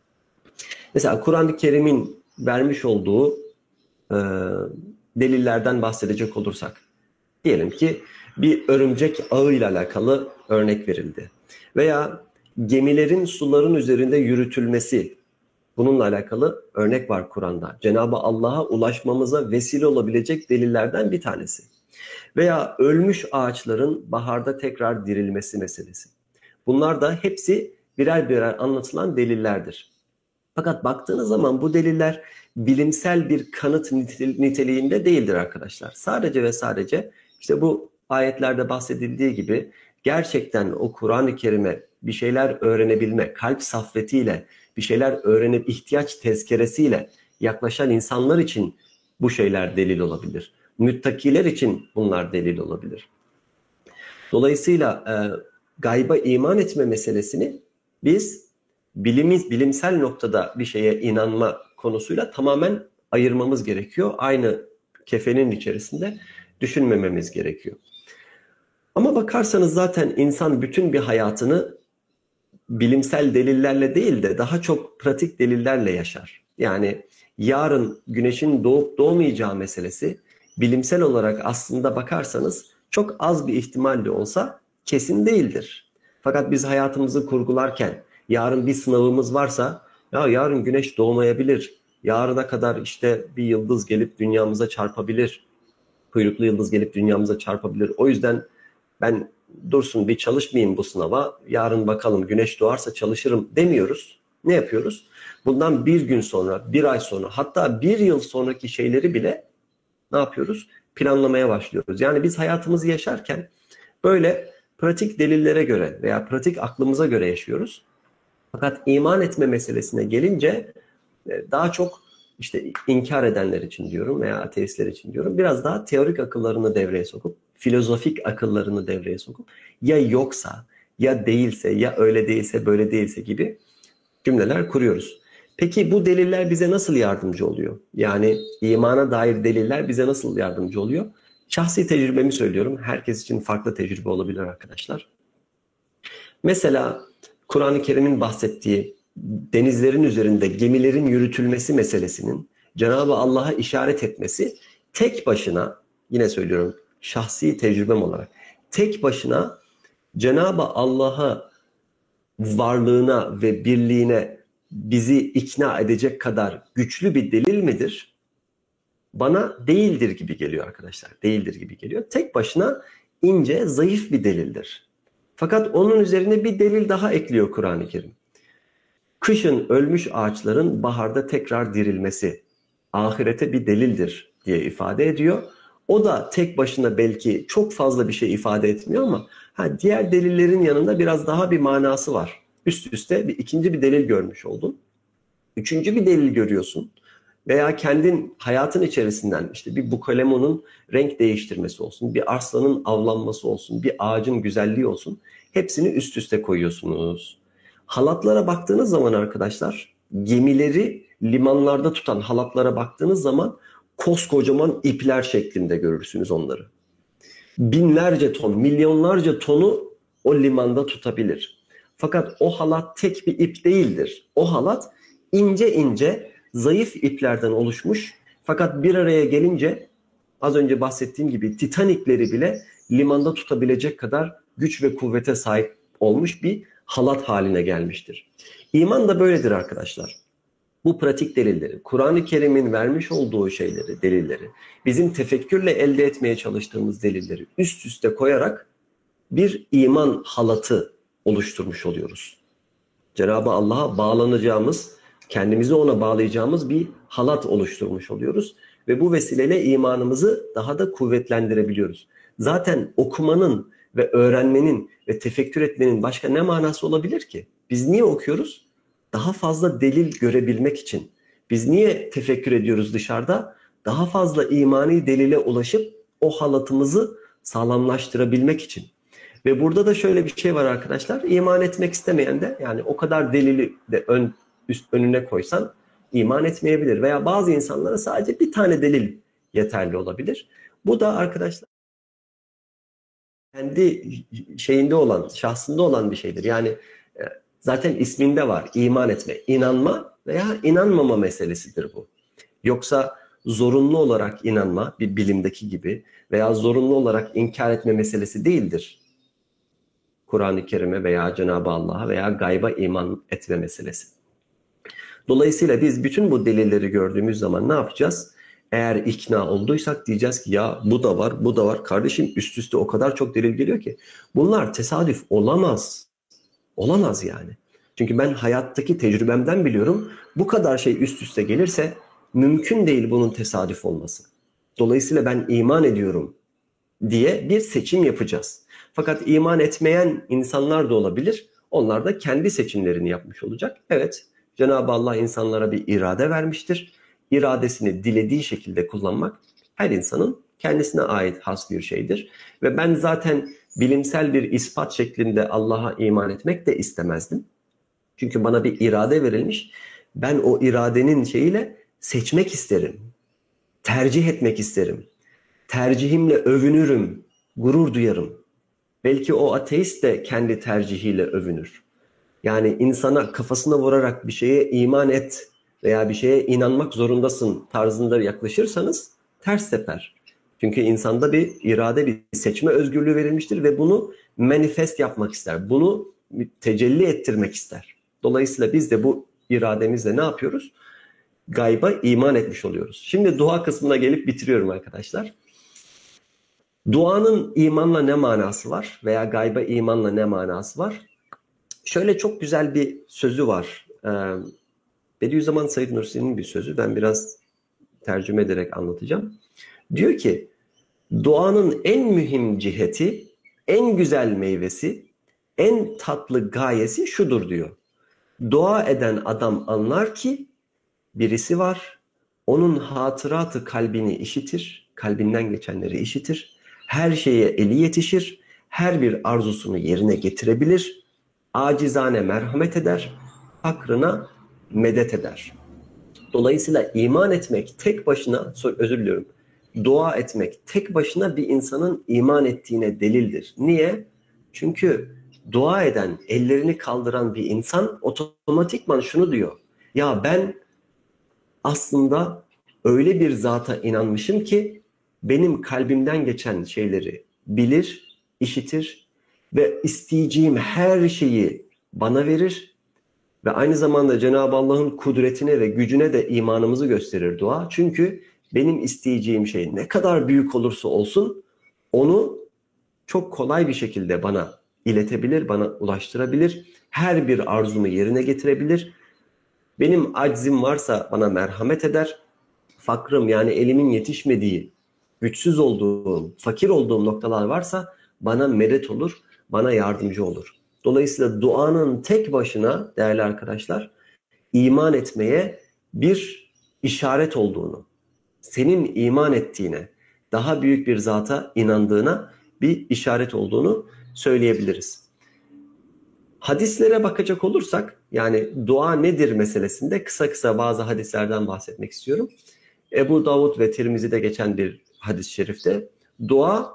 Mesela Kur'an-ı Kerim'in vermiş olduğu e, delillerden bahsedecek olursak. Diyelim ki bir örümcek ağıyla alakalı örnek verildi. Veya gemilerin suların üzerinde yürütülmesi, bununla alakalı örnek var Kur'an'da. Cenab-ı Allah'a ulaşmamıza vesile olabilecek delillerden bir tanesi. Veya ölmüş ağaçların baharda tekrar dirilmesi meselesi. Bunlar da hepsi birer birer anlatılan delillerdir. Fakat baktığınız zaman bu deliller bilimsel bir kanıt niteliğinde değildir arkadaşlar. Sadece ve sadece işte bu ayetlerde bahsedildiği gibi gerçekten o Kur'an-ı Kerim'e bir şeyler öğrenebilme, kalp saffetiyle, bir şeyler öğrenip ihtiyaç tezkeresiyle yaklaşan insanlar için bu şeyler delil olabilir. Müttakiler için bunlar delil olabilir. Dolayısıyla e, gayba iman etme meselesini biz bilimiz, bilimsel noktada bir şeye inanma konusuyla tamamen ayırmamız gerekiyor. Aynı kefenin içerisinde düşünmememiz gerekiyor. Ama bakarsanız zaten insan bütün bir hayatını bilimsel delillerle değil de daha çok pratik delillerle yaşar. Yani yarın güneşin doğup doğmayacağı meselesi bilimsel olarak aslında bakarsanız çok az bir ihtimalle olsa kesin değildir. Fakat biz hayatımızı kurgularken yarın bir sınavımız varsa ya yarın güneş doğmayabilir, yarına kadar işte bir yıldız gelip dünyamıza çarpabilir, kuyruklu yıldız gelip dünyamıza çarpabilir. O yüzden ben dursun bir çalışmayayım bu sınava, yarın bakalım güneş doğarsa çalışırım demiyoruz. Ne yapıyoruz? Bundan bir gün sonra, bir ay sonra, hatta bir yıl sonraki şeyleri bile ne yapıyoruz? Planlamaya başlıyoruz. Yani biz hayatımızı yaşarken böyle pratik delillere göre veya pratik aklımıza göre yaşıyoruz. Fakat iman etme meselesine gelince daha çok işte inkar edenler için diyorum veya ateistler için diyorum, biraz daha teorik akıllarını devreye sokup, filozofik akıllarını devreye sokup ya yoksa, ya değilse, ya öyle değilse, böyle değilse gibi cümleler kuruyoruz. Peki bu deliller bize nasıl yardımcı oluyor? Yani imana dair deliller bize nasıl yardımcı oluyor? Şahsi tecrübemi söylüyorum. Herkes için farklı tecrübe olabilir arkadaşlar. Mesela Kur'an-ı Kerim'in bahsettiği denizlerin üzerinde gemilerin yürütülmesi meselesinin Cenab-ı Allah'a işaret etmesi tek başına, yine söylüyorum şahsi tecrübem olarak, tek başına Cenab-ı Allah'a varlığına ve birliğine bizi ikna edecek kadar güçlü bir delil midir? Bana değildir gibi geliyor arkadaşlar. Değildir gibi geliyor. Tek başına ince, zayıf bir delildir. Fakat onun üzerine bir delil daha ekliyor Kur'an-ı Kerim. Kışın ölmüş ağaçların baharda tekrar dirilmesi ahirete bir delildir diye ifade ediyor. O da tek başına belki çok fazla bir şey ifade etmiyor ama ha, diğer delillerin yanında biraz daha bir manası var. Üst üste bir ikinci bir delil görmüş oldun. Üçüncü bir delil görüyorsun. Veya kendin hayatın içerisinden işte bir bukalemonun renk değiştirmesi olsun, bir arslanın avlanması olsun, bir ağacın güzelliği olsun. Hepsini üst üste koyuyorsunuz. Halatlara baktığınız zaman arkadaşlar, gemileri limanlarda tutan halatlara baktığınız zaman koskocaman ipler şeklinde görürsünüz onları. Binlerce ton, milyonlarca tonu o limanda tutabilir. Fakat o halat tek bir ip değildir. O halat ince ince zayıf iplerden oluşmuş. Fakat bir araya gelince az önce bahsettiğim gibi Titanikleri bile limanda tutabilecek kadar güç ve kuvvete sahip olmuş bir halat haline gelmiştir. İman da böyledir arkadaşlar. Bu pratik delilleri, Kur'an-ı Kerim'in vermiş olduğu şeyleri, delilleri, bizim tefekkürle elde etmeye çalıştığımız delilleri üst üste koyarak bir iman halatı oluşturmuş oluyoruz. Cenab-ı Allah'a bağlanacağımız, kendimizi ona bağlayacağımız bir halat oluşturmuş oluyoruz. Ve bu vesileyle imanımızı daha da kuvvetlendirebiliyoruz. Zaten okumanın ve öğrenmenin ve tefekkür etmenin başka ne manası olabilir ki? Biz niye okuyoruz? daha fazla delil görebilmek için. Biz niye tefekkür ediyoruz dışarıda? Daha fazla imani delile ulaşıp o halatımızı sağlamlaştırabilmek için. Ve burada da şöyle bir şey var arkadaşlar. İman etmek istemeyen de, yani o kadar delili de ön, üst önüne koysan iman etmeyebilir. Veya bazı insanlara sadece bir tane delil yeterli olabilir. Bu da arkadaşlar kendi şeyinde olan, şahsında olan bir şeydir. Yani zaten isminde var, iman etme, inanma veya inanmama meselesidir bu. Yoksa zorunlu olarak inanma, bir bilimdeki gibi, veya zorunlu olarak inkar etme meselesi değildir. Kur'an-ı Kerim'e veya Cenab-ı Allah'a veya gayba iman etme meselesi. Dolayısıyla biz bütün bu delilleri gördüğümüz zaman ne yapacağız? Eğer ikna olduysak diyeceğiz ki ya bu da var, bu da var. Kardeşim üst üste o kadar çok delil geliyor ki. Bunlar tesadüf olamaz. Olamaz yani. Çünkü ben hayattaki tecrübemden biliyorum. Bu kadar şey üst üste gelirse mümkün değil bunun tesadüf olması. Dolayısıyla ben iman ediyorum diye bir seçim yapacağız. Fakat iman etmeyen insanlar da olabilir. Onlar da kendi seçimlerini yapmış olacak. Evet, Cenab-ı Allah insanlara bir irade vermiştir. İradesini dilediği şekilde kullanmak her insanın kendisine ait has bir şeydir. Ve ben zaten bilimsel bir ispat şeklinde Allah'a iman etmek de istemezdim. Çünkü bana bir irade verilmiş. Ben o iradenin şeyiyle seçmek isterim. Tercih etmek isterim. Tercihimle övünürüm, gurur duyarım. Belki o ateist de kendi tercihiyle övünür. Yani insana kafasına vurarak bir şeye iman et veya bir şeye inanmak zorundasın tarzında yaklaşırsanız ters teper. Çünkü insanda bir irade, bir seçme özgürlüğü verilmiştir ve bunu manifest yapmak ister. Bunu tecelli ettirmek ister. Dolayısıyla biz de bu irademizle ne yapıyoruz? Gayba iman etmiş oluyoruz. Şimdi dua kısmına gelip bitiriyorum arkadaşlar. Duanın imanla ne manası var veya gayba imanla ne manası var? Şöyle çok güzel bir sözü var. Ee, Bediüzzaman Said Nursi'nin bir sözü. Ben biraz tercüme ederek anlatacağım. Diyor ki, duanın en mühim ciheti, en güzel meyvesi, en tatlı gayesi şudur diyor. Dua eden adam anlar ki birisi var, onun hatıratı kalbini işitir, kalbinden geçenleri işitir, her şeye eli yetişir, her bir arzusunu yerine getirebilir, acizane merhamet eder, fakrına medet eder. Dolayısıyla iman etmek tek başına, özür diliyorum, dua etmek tek başına bir insanın iman ettiğine delildir. Niye? Çünkü dua eden, ellerini kaldıran bir insan otomatikman şunu diyor. Ya ben aslında öyle bir zata inanmışım ki benim kalbimden geçen şeyleri bilir, işitir ve isteyeceğim her şeyi bana verir. Ve aynı zamanda Cenab-ı Allah'ın kudretine ve gücüne de imanımızı gösterir dua. Çünkü benim isteyeceğim şey ne kadar büyük olursa olsun onu çok kolay bir şekilde bana iletebilir, bana ulaştırabilir. Her bir arzumu yerine getirebilir. Benim aczim varsa bana merhamet eder. Fakrım, yani elimin yetişmediği, güçsüz olduğum, fakir olduğum noktalar varsa bana medet olur, bana yardımcı olur. Dolayısıyla duanın tek başına değerli arkadaşlar iman etmeye bir işaret olduğunu, senin iman ettiğine, daha büyük bir zata inandığına bir işaret olduğunu söyleyebiliriz. Hadislere bakacak olursak, yani dua nedir meselesinde kısa kısa bazı hadislerden bahsetmek istiyorum. Ebu Davud ve Tirmizi'de geçen bir hadis-i şerifte dua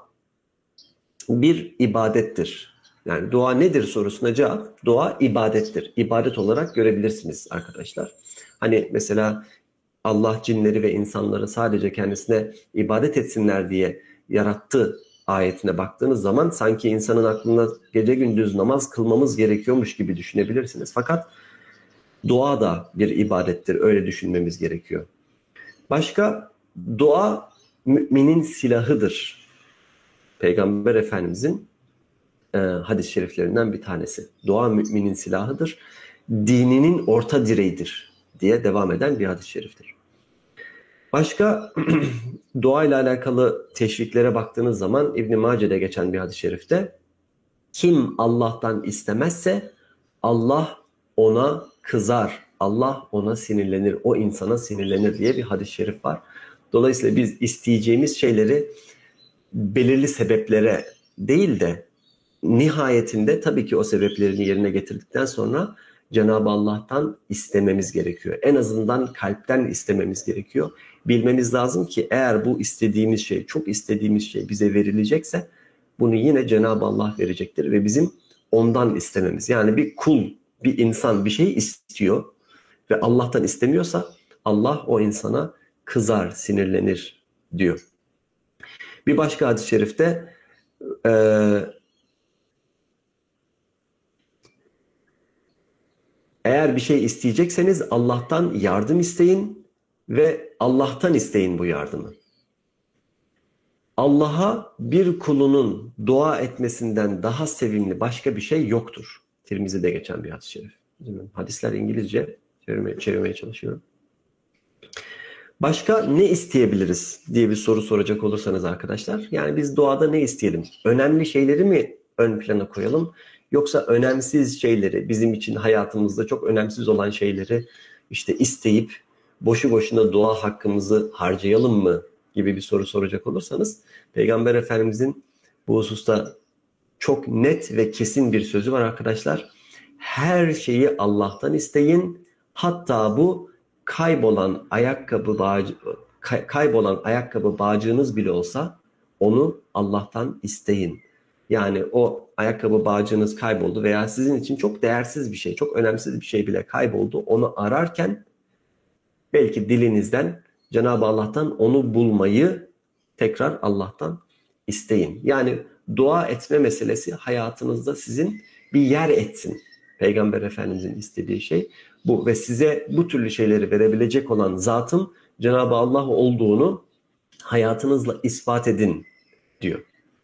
bir ibadettir. Yani dua nedir sorusuna cevap, dua ibadettir. İbadet olarak görebilirsiniz arkadaşlar. Hani mesela Allah cinleri ve insanları sadece kendisine ibadet etsinler diye yarattı ayetine baktığınız zaman sanki insanın aklına gece gündüz namaz kılmamız gerekiyormuş gibi düşünebilirsiniz. Fakat dua da bir ibadettir. Öyle düşünmemiz gerekiyor. Başka, dua müminin silahıdır. Peygamber Efendimizin e, hadis-i şeriflerinden bir tanesi. Dua müminin silahıdır. Dininin orta direğidir diye devam eden bir hadis-i şeriftir. Başka dua ile alakalı teşviklere baktığınız zaman İbn-i Mace'de geçen bir hadis-i şerifte kim Allah'tan istemezse Allah ona kızar. Allah ona sinirlenir, o insana sinirlenir diye bir hadis-i şerif var. Dolayısıyla biz isteyeceğimiz şeyleri belirli sebeplere değil de nihayetinde tabii ki o sebeplerini yerine getirdikten sonra Cenab-ı Allah'tan istememiz gerekiyor. En azından kalpten istememiz gerekiyor. Bilmemiz lazım ki eğer bu istediğimiz şey, çok istediğimiz şey bize verilecekse bunu yine Cenab-ı Allah verecektir ve bizim ondan istememiz. Yani bir kul, bir insan bir şey istiyor ve Allah'tan istemiyorsa Allah o insana kızar, sinirlenir diyor. Bir başka hadis-i şerifte e, eğer bir şey isteyecekseniz Allah'tan yardım isteyin ve Allah'tan isteyin bu yardımı. Allah'a bir kulunun dua etmesinden daha sevimli başka bir şey yoktur. Tirmizi'de geçen bir hadis-i şerif. Hadisler İngilizce, çevirmeye, çevirmeye çalışıyorum. Başka ne isteyebiliriz diye bir soru soracak olursanız arkadaşlar. Yani biz duada ne isteyelim? Önemli şeyleri mi ön plana koyalım? Yoksa önemsiz şeyleri, bizim için hayatımızda çok önemsiz olan şeyleri işte isteyip boşu boşuna dua hakkımızı harcayalım mı gibi bir soru soracak olursanız Peygamber Efendimizin bu hususta çok net ve kesin bir sözü var arkadaşlar. Her şeyi Allah'tan isteyin. Hatta bu kaybolan ayakkabı bağcı, kay, kaybolan ayakkabı bağcığınız bile olsa onu Allah'tan isteyin. Yani o ayakkabı bağcığınız kayboldu veya sizin için çok değersiz bir şey, çok önemsiz bir şey bile kayboldu. Onu ararken belki dilinizden Cenab-ı Allah'tan onu bulmayı tekrar Allah'tan isteyin. Yani dua etme meselesi hayatınızda sizin bir yer etsin. Peygamber Efendimizin istediği şey bu ve size bu türlü şeyleri verebilecek olan zatın Cenab-ı Allah olduğunu hayatınızla ispat edin diyor.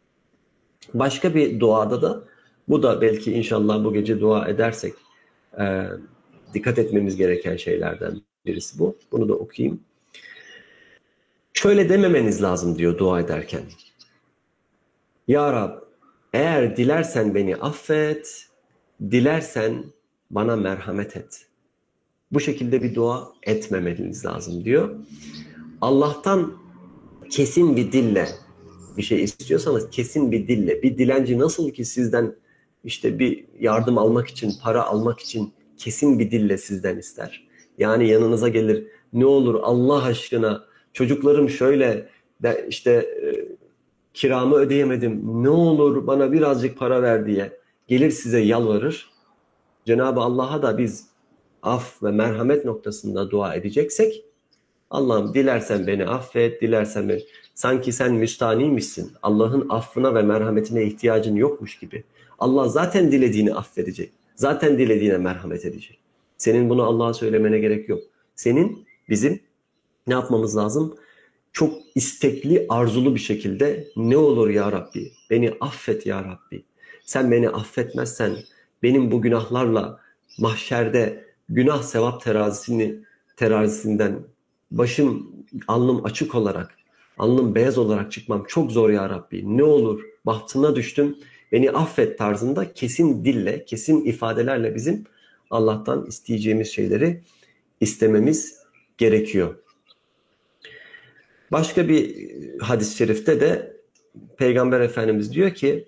Başka bir duada da bu da belki inşallah bu gece dua edersek e, dikkat etmemiz gereken şeylerden birisi bu. Bunu da okuyayım. Şöyle dememeniz lazım diyor dua ederken. Ya Rab, eğer dilersen beni affet, dilersen bana merhamet et. Bu şekilde bir dua etmemeniz lazım diyor. Allah'tan kesin bir dille bir şey istiyorsanız kesin bir dille, bir dilenci nasıl ki sizden işte bir yardım almak için, para almak için kesin bir dille sizden ister. Yani yanınıza gelir, ne olur Allah aşkına çocuklarım şöyle de işte e, kiramı ödeyemedim, ne olur bana birazcık para ver diye gelir size yalvarır. Cenab-ı Allah'a da biz af ve merhamet noktasında dua edeceksek Allah'ım dilersen beni affet, dilersen beni... Sanki sen müstaniymişsin. Allah'ın affına ve merhametine ihtiyacın yokmuş gibi. Allah zaten dilediğini affedecek. Zaten dilediğine merhamet edecek. Senin bunu Allah'a söylemene gerek yok. Senin bizim ne yapmamız lazım? Çok istekli, arzulu bir şekilde ne olur ya Rabbi, beni affet ya Rabbi. Sen beni affetmezsen benim bu günahlarla mahşerde günah sevap terazisini terazisinden başım, alnım açık olarak, alnım beyaz olarak çıkmam çok zor ya Rabbi. Ne olur bahtına düştüm, beni affet tarzında kesin dille, kesin ifadelerle bizim Allah'tan isteyeceğimiz şeyleri istememiz gerekiyor. Başka bir hadis-i şerifte de Peygamber Efendimiz diyor ki,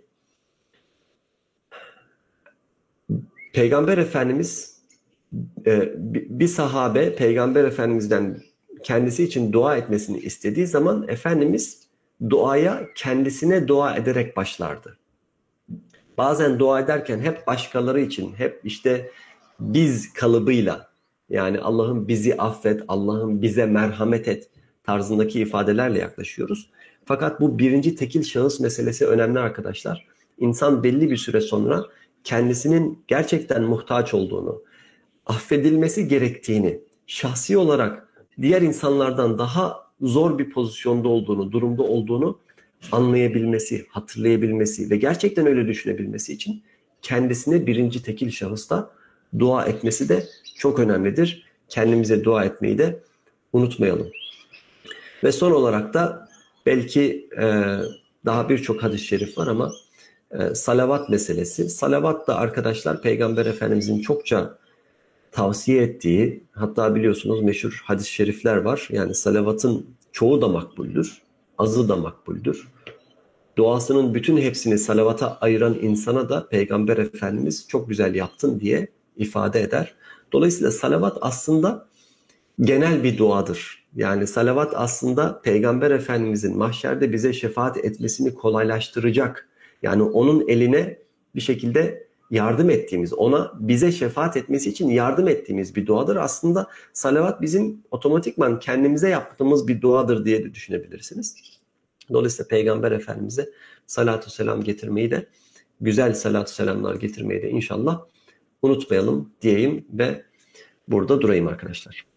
Peygamber Efendimiz bir sahabe Peygamber Efendimiz'den kendisi için dua etmesini istediği zaman Efendimiz duaya kendisine dua ederek başlardı. Bazen dua ederken hep başkaları için, hep işte biz kalıbıyla, yani Allah'ım bizi affet, Allah'ım bize merhamet et tarzındaki ifadelerle yaklaşıyoruz. Fakat bu birinci tekil şahıs meselesi önemli arkadaşlar. İnsan belli bir süre sonra kendisinin gerçekten muhtaç olduğunu, affedilmesi gerektiğini, şahsi olarak diğer insanlardan daha zor bir pozisyonda olduğunu, durumda olduğunu anlayabilmesi, hatırlayabilmesi ve gerçekten öyle düşünebilmesi için kendisine birinci tekil şahısta dua etmesi de çok önemlidir. Kendimize dua etmeyi de unutmayalım. Ve son olarak da belki e, daha birçok hadis-i şerif var ama e, salavat meselesi. Salavat da arkadaşlar Peygamber Efendimizin çokça tavsiye ettiği, hatta biliyorsunuz meşhur hadis-i şerifler var. Yani salavatın çoğu da makbuldür, azı da makbuldür. Duasının bütün hepsini salavata ayıran insana da Peygamber Efendimiz çok güzel yaptın diye ifade eder. Dolayısıyla salavat aslında genel bir duadır. Yani salavat aslında Peygamber Efendimizin mahşerde bize şefaat etmesini kolaylaştıracak. Yani onun eline bir şekilde yardım ettiğimiz, ona bize şefaat etmesi için yardım ettiğimiz bir duadır. Aslında salavat bizim otomatikman kendimize yaptığımız bir duadır diye de düşünebilirsiniz. Dolayısıyla Peygamber Efendimiz'e salatu selam getirmeyi de, güzel salatu selamlar getirmeyi de inşallah unutmayalım diyeyim ve burada durayım arkadaşlar.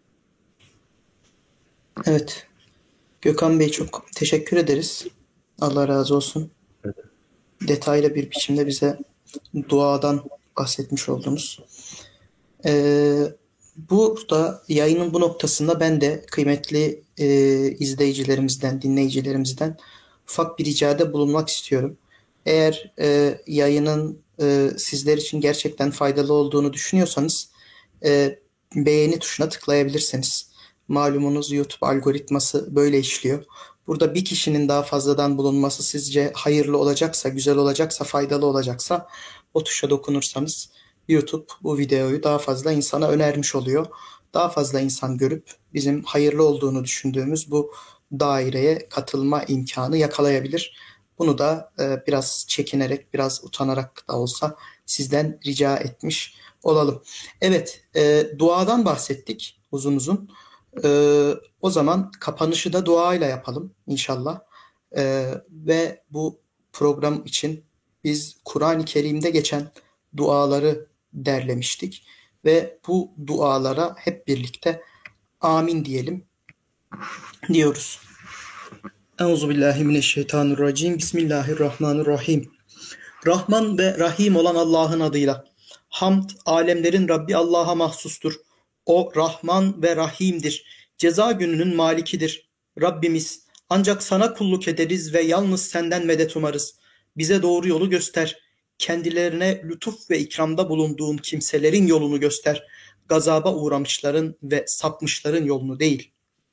Evet. Gökhan Bey çok teşekkür ederiz. Allah razı olsun. Evet. Detaylı bir biçimde bize duadan bahsetmiş oldunuz. Ee, burada yayının bu noktasında ben de kıymetli e, izleyicilerimizden, dinleyicilerimizden ufak bir ricada bulunmak istiyorum. Eğer e, yayının e, sizler için gerçekten faydalı olduğunu düşünüyorsanız e, beğeni tuşuna tıklayabilirsiniz. Malumunuz YouTube algoritması böyle işliyor. Burada bir kişinin daha fazladan bulunması sizce hayırlı olacaksa, güzel olacaksa, faydalı olacaksa o tuşa dokunursanız YouTube bu videoyu daha fazla insana önermiş oluyor. Daha fazla insan görüp bizim hayırlı olduğunu düşündüğümüz bu daireye katılma imkanı yakalayabilir. Bunu da e, biraz çekinerek, biraz utanarak da olsa sizden rica etmiş olalım. Evet, e, duadan bahsettik uzun uzun. Ee, o zaman kapanışı da duayla yapalım inşallah. Ee, ve bu program için biz Kur'an-ı Kerim'de geçen duaları derlemiştik. Ve bu dualara hep birlikte amin diyelim diyoruz. Euzubillahimineşşeytanirracim. Bismillahirrahmanirrahim. Rahman ve Rahim olan Allah'ın adıyla. Hamd, alemlerin Rabbi Allah'a mahsustur. O Rahman ve Rahim'dir. Ceza gününün malikidir. Rabbimiz, ancak sana kulluk ederiz ve yalnız senden medet umarız. Bize doğru yolu göster. Kendilerine lütuf ve ikramda bulunduğun kimselerin yolunu göster. Gazaba uğramışların ve sapmışların yolunu değil.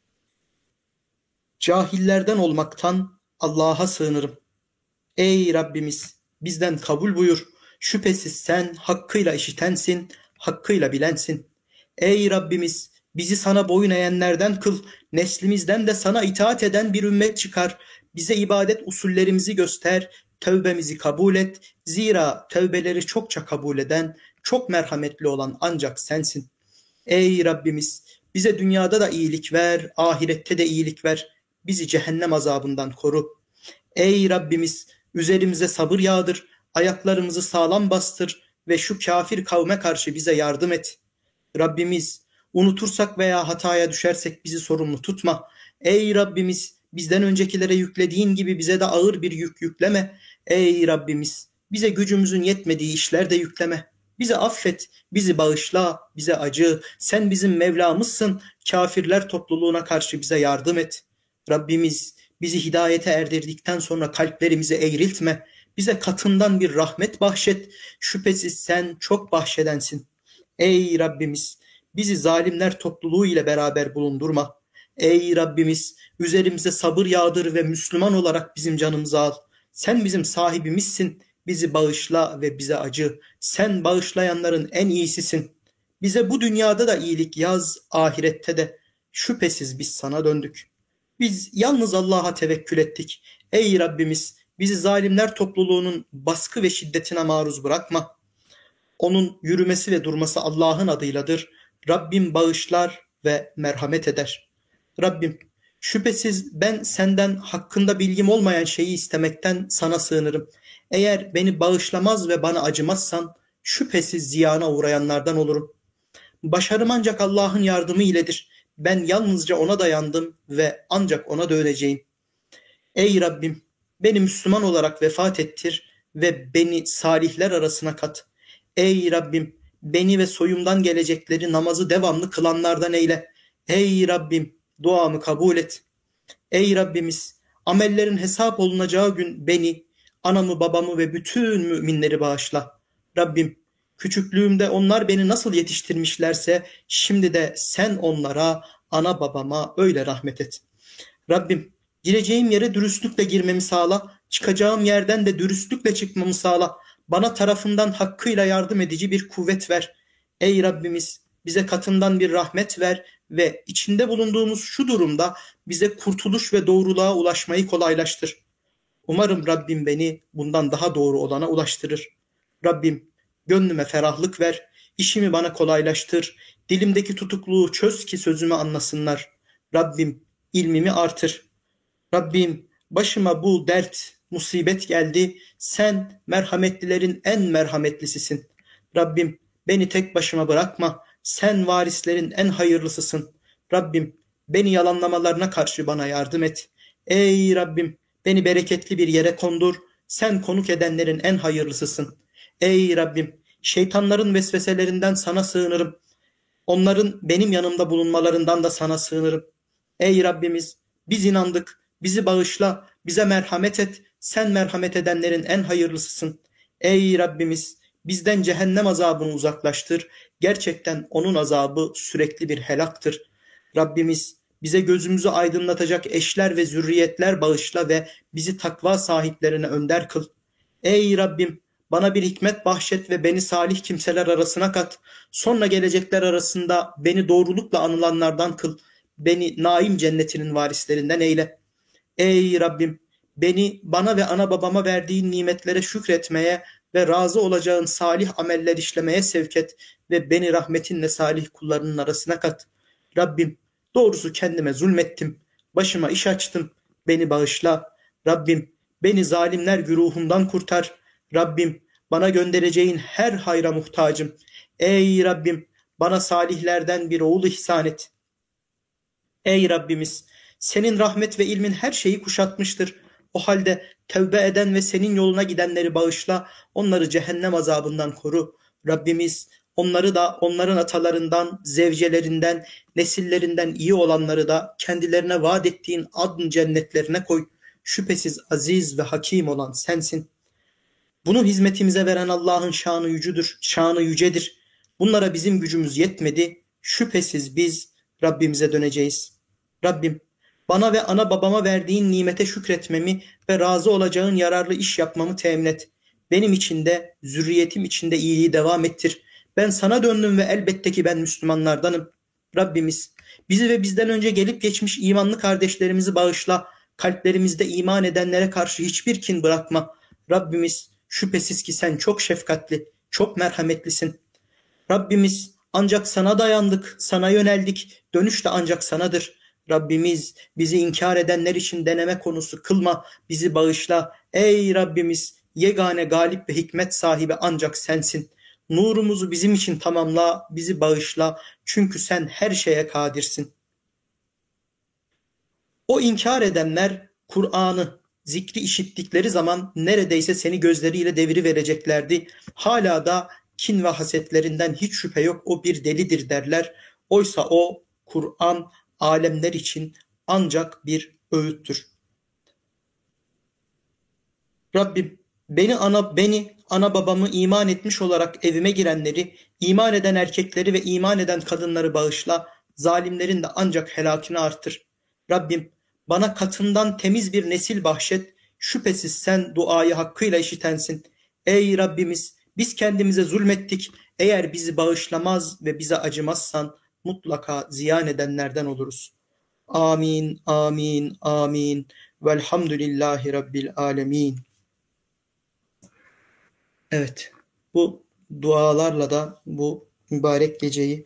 Cahillerden olmaktan Allah'a sığınırım. Ey Rabbimiz, bizden kabul buyur. Şüphesiz sen hakkıyla işitensin, hakkıyla bilensin. Ey Rabbimiz, bizi sana boyun eğenlerden kıl, neslimizden de sana itaat eden bir ümmet çıkar. Bize ibadet usullerimizi göster, tövbemizi kabul et. Zira tövbeleri çokça kabul eden, çok merhametli olan ancak sensin. Ey Rabbimiz, bize dünyada da iyilik ver, ahirette de iyilik ver. Bizi cehennem azabından koru. Ey Rabbimiz, üzerimize sabır yağdır, ayaklarımızı sağlam bastır ve şu kafir kavme karşı bize yardım et. Rabbimiz, unutursak veya hataya düşersek bizi sorumlu tutma. Ey Rabbimiz, bizden öncekilere yüklediğin gibi bize de ağır bir yük yükleme. Ey Rabbimiz, bize gücümüzün yetmediği işler de yükleme. Bizi affet, bizi bağışla, bize acı. Sen bizim Mevlamızsın. Kafirler topluluğuna karşı bize yardım et. Rabbimiz, bizi hidayete erdirdikten sonra kalplerimizi eğriltme. Bize katından bir rahmet bahşet. Şüphesiz sen çok bahşedensin. Ey Rabbimiz, bizi zalimler topluluğu ile beraber bulundurma. Ey Rabbimiz, üzerimize sabır yağdır ve Müslüman olarak bizim canımızı al. Sen bizim sahibimizsin. Bizi bağışla ve bize acı. Sen bağışlayanların en iyisisin. Bize bu dünyada da iyilik yaz, ahirette de. Şüphesiz biz sana döndük. Biz yalnız Allah'a tevekkül ettik. Ey Rabbimiz, bizi zalimler topluluğunun baskı ve şiddetine maruz bırakma. Onun yürümesi ve durması Allah'ın adıyladır. Rabbim bağışlar ve merhamet eder. Rabbim, şüphesiz ben senden hakkında bilgim olmayan şeyi istemekten sana sığınırım. Eğer beni bağışlamaz ve bana acımazsan şüphesiz ziyana uğrayanlardan olurum. Başarım ancak Allah'ın yardımı iledir. Ben yalnızca ona dayandım ve ancak ona döneceğim. Ey Rabbim, beni Müslüman olarak vefat ettir ve beni salihler arasına kat. Ey Rabbim, beni ve soyumdan gelecekleri namazı devamlı kılanlardan eyle. Ey Rabbim, duamı kabul et. Ey Rabbimiz, amellerin hesap olunacağı gün beni, anamı, babamı ve bütün müminleri bağışla. Rabbim, Küçüklüğümde onlar beni nasıl yetiştirmişlerse şimdi de sen onlara, ana babama öyle rahmet et. Rabbim, gireceğim yere dürüstlükle girmemi sağla, çıkacağım yerden de dürüstlükle çıkmamı sağla. Bana tarafından hakkıyla yardım edici bir kuvvet ver. Ey Rabbimiz, bize katından bir rahmet ver ve içinde bulunduğumuz şu durumda bize kurtuluş ve doğruluğa ulaşmayı kolaylaştır. Umarım Rabbim beni bundan daha doğru olana ulaştırır. Rabbim, gönlüme ferahlık ver, işimi bana kolaylaştır, dilimdeki tutukluğu çöz ki sözümü anlasınlar. Rabbim, ilmimi artır. Rabbim, başıma bu dert, musibet geldi. Sen merhametlilerin en merhametlisisin. Rabbim, beni tek başıma bırakma. Sen varislerin en hayırlısısın. Rabbim, beni yalanlamalarına karşı bana yardım et. Ey Rabbim, beni bereketli bir yere kondur. Sen konuk edenlerin en hayırlısısın. Ey Rabbim, şeytanların vesveselerinden sana sığınırım. Onların benim yanımda bulunmalarından da sana sığınırım. Ey Rabbimiz, biz inandık, bizi bağışla, bize merhamet et. Sen merhamet edenlerin en hayırlısısın. Ey Rabbimiz, bizden cehennem azabını uzaklaştır. Gerçekten onun azabı sürekli bir helaktır. Rabbimiz, bize gözümüzü aydınlatacak eşler ve zürriyetler bağışla ve bizi takva sahiplerine önder kıl. Ey Rabbim, bana bir hikmet bahşet ve beni salih kimseler arasına kat. Sonra gelecekler arasında beni doğrulukla anılanlardan kıl. Beni naim cennetinin varislerinden eyle. Ey Rabbim, beni bana ve ana babama verdiğin nimetlere şükretmeye ve razı olacağın salih ameller işlemeye sevk et ve beni rahmetinle salih kullarının arasına kat. Rabbim, doğrusu kendime zulmettim, başıma iş açtım, beni bağışla. Rabbim, beni zalimler güruhundan kurtar. Rabbim, bana göndereceğin her hayra muhtacım. Ey Rabbim, bana salihlerden bir oğul ihsan et. Ey Rabbimiz, senin rahmet ve ilmin her şeyi kuşatmıştır. O halde tevbe eden ve senin yoluna gidenleri bağışla, onları cehennem azabından koru. Rabbimiz, onları da onların atalarından, zevcelerinden, nesillerinden iyi olanları da kendilerine vaat ettiğin adn cennetlerine koy. Şüphesiz aziz ve hakim olan sensin. Bunu hizmetimize veren Allah'ın şanı yücüdür, şanı yücedir. Bunlara bizim gücümüz yetmedi. Şüphesiz biz Rabbimize döneceğiz. Rabbim, bana ve ana babama verdiğin nimete şükretmemi ve razı olacağın yararlı iş yapmamı temin et. Benim için de, zürriyetim için de iyiliği devam ettir. Ben sana döndüm ve elbette ki ben Müslümanlardanım. Rabbimiz, bizi ve bizden önce gelip geçmiş imanlı kardeşlerimizi bağışla. Kalplerimizde iman edenlere karşı hiçbir kin bırakma. Rabbimiz, şüphesiz ki sen çok şefkatli, çok merhametlisin. Rabbimiz, ancak sana dayandık, sana yöneldik. Dönüş de ancak sanadır. Rabbimiz, bizi inkar edenler için deneme konusu kılma, bizi bağışla. Ey Rabbimiz, yegane galip ve hikmet sahibi ancak sensin. Nurumuzu bizim için tamamla, bizi bağışla. Çünkü sen her şeye kadirsin. O inkar edenler Kur'an'ı, zikri işittikleri zaman neredeyse seni gözleriyle deviri vereceklerdi. Hala da kin ve hasetlerinden hiç şüphe yok, o bir delidir derler. Oysa o Kur'an alemler için ancak bir öğüttür. Rabbim, beni ana beni ana babamı iman etmiş olarak evime girenleri, iman eden erkekleri ve iman eden kadınları bağışla. Zalimlerin de ancak helakini artır. Rabbim, bana katından temiz bir nesil bahşet. Şüphesiz sen duayı hakkıyla işitensin. Ey Rabbimiz, biz kendimize zulmettik. Eğer bizi bağışlamaz ve bize acımazsan mutlaka ziyan edenlerden oluruz. Amin, amin, amin. Velhamdülillahi Rabbil alemin. Evet, bu dualarla da bu mübarek geceyi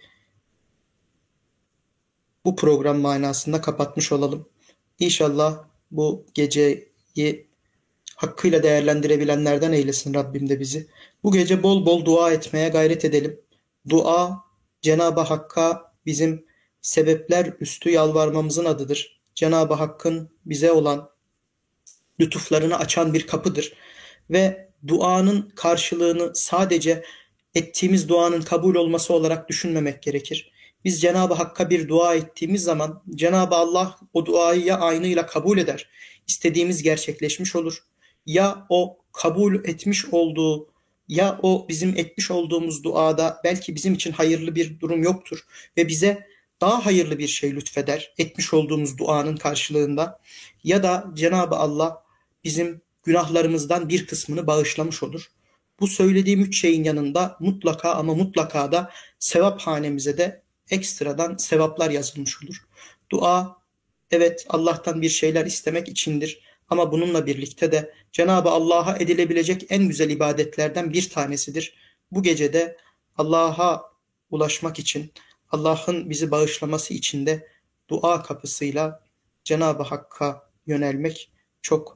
bu program manasında kapatmış olalım. İnşallah bu geceyi hakkıyla değerlendirebilenlerden eylesin Rabbim de bizi. Bu gece bol bol dua etmeye gayret edelim. Dua, Cenab-ı Hakk'a bizim sebepler üstü yalvarmamızın adıdır. Cenab-ı Hakk'ın bize olan lütuflarını açan bir kapıdır. Ve duanın karşılığını sadece ettiğimiz duanın kabul olması olarak düşünmemek gerekir. Biz Cenab-ı Hakk'a bir dua ettiğimiz zaman Cenab-ı Allah o duayı ya aynıyla kabul eder, istediğimiz gerçekleşmiş olur. Ya o kabul etmiş olduğu ya o bizim etmiş olduğumuz duada belki bizim için hayırlı bir durum yoktur ve bize daha hayırlı bir şey lütfeder etmiş olduğumuz duanın karşılığında, ya da Cenab-ı Allah bizim günahlarımızdan bir kısmını bağışlamış olur. Bu söylediğim üç şeyin yanında mutlaka ama mutlaka da sevap hanemize de ekstradan sevaplar yazılmış olur. Dua, evet, Allah'tan bir şeyler istemek içindir. Ama bununla birlikte de Cenab-ı Allah'a edilebilecek en güzel ibadetlerden bir tanesidir. Bu gecede Allah'a ulaşmak için, Allah'ın bizi bağışlaması için de dua kapısıyla Cenab-ı Hakk'a yönelmek çok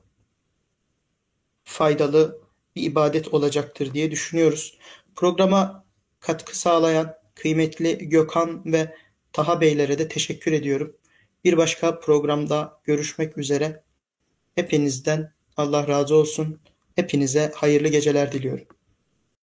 faydalı bir ibadet olacaktır diye düşünüyoruz. Programa katkı sağlayan kıymetli Gökhan ve Taha Beylere de teşekkür ediyorum. Bir başka programda görüşmek üzere. Hepinizden Allah razı olsun. Hepinize hayırlı geceler diliyorum.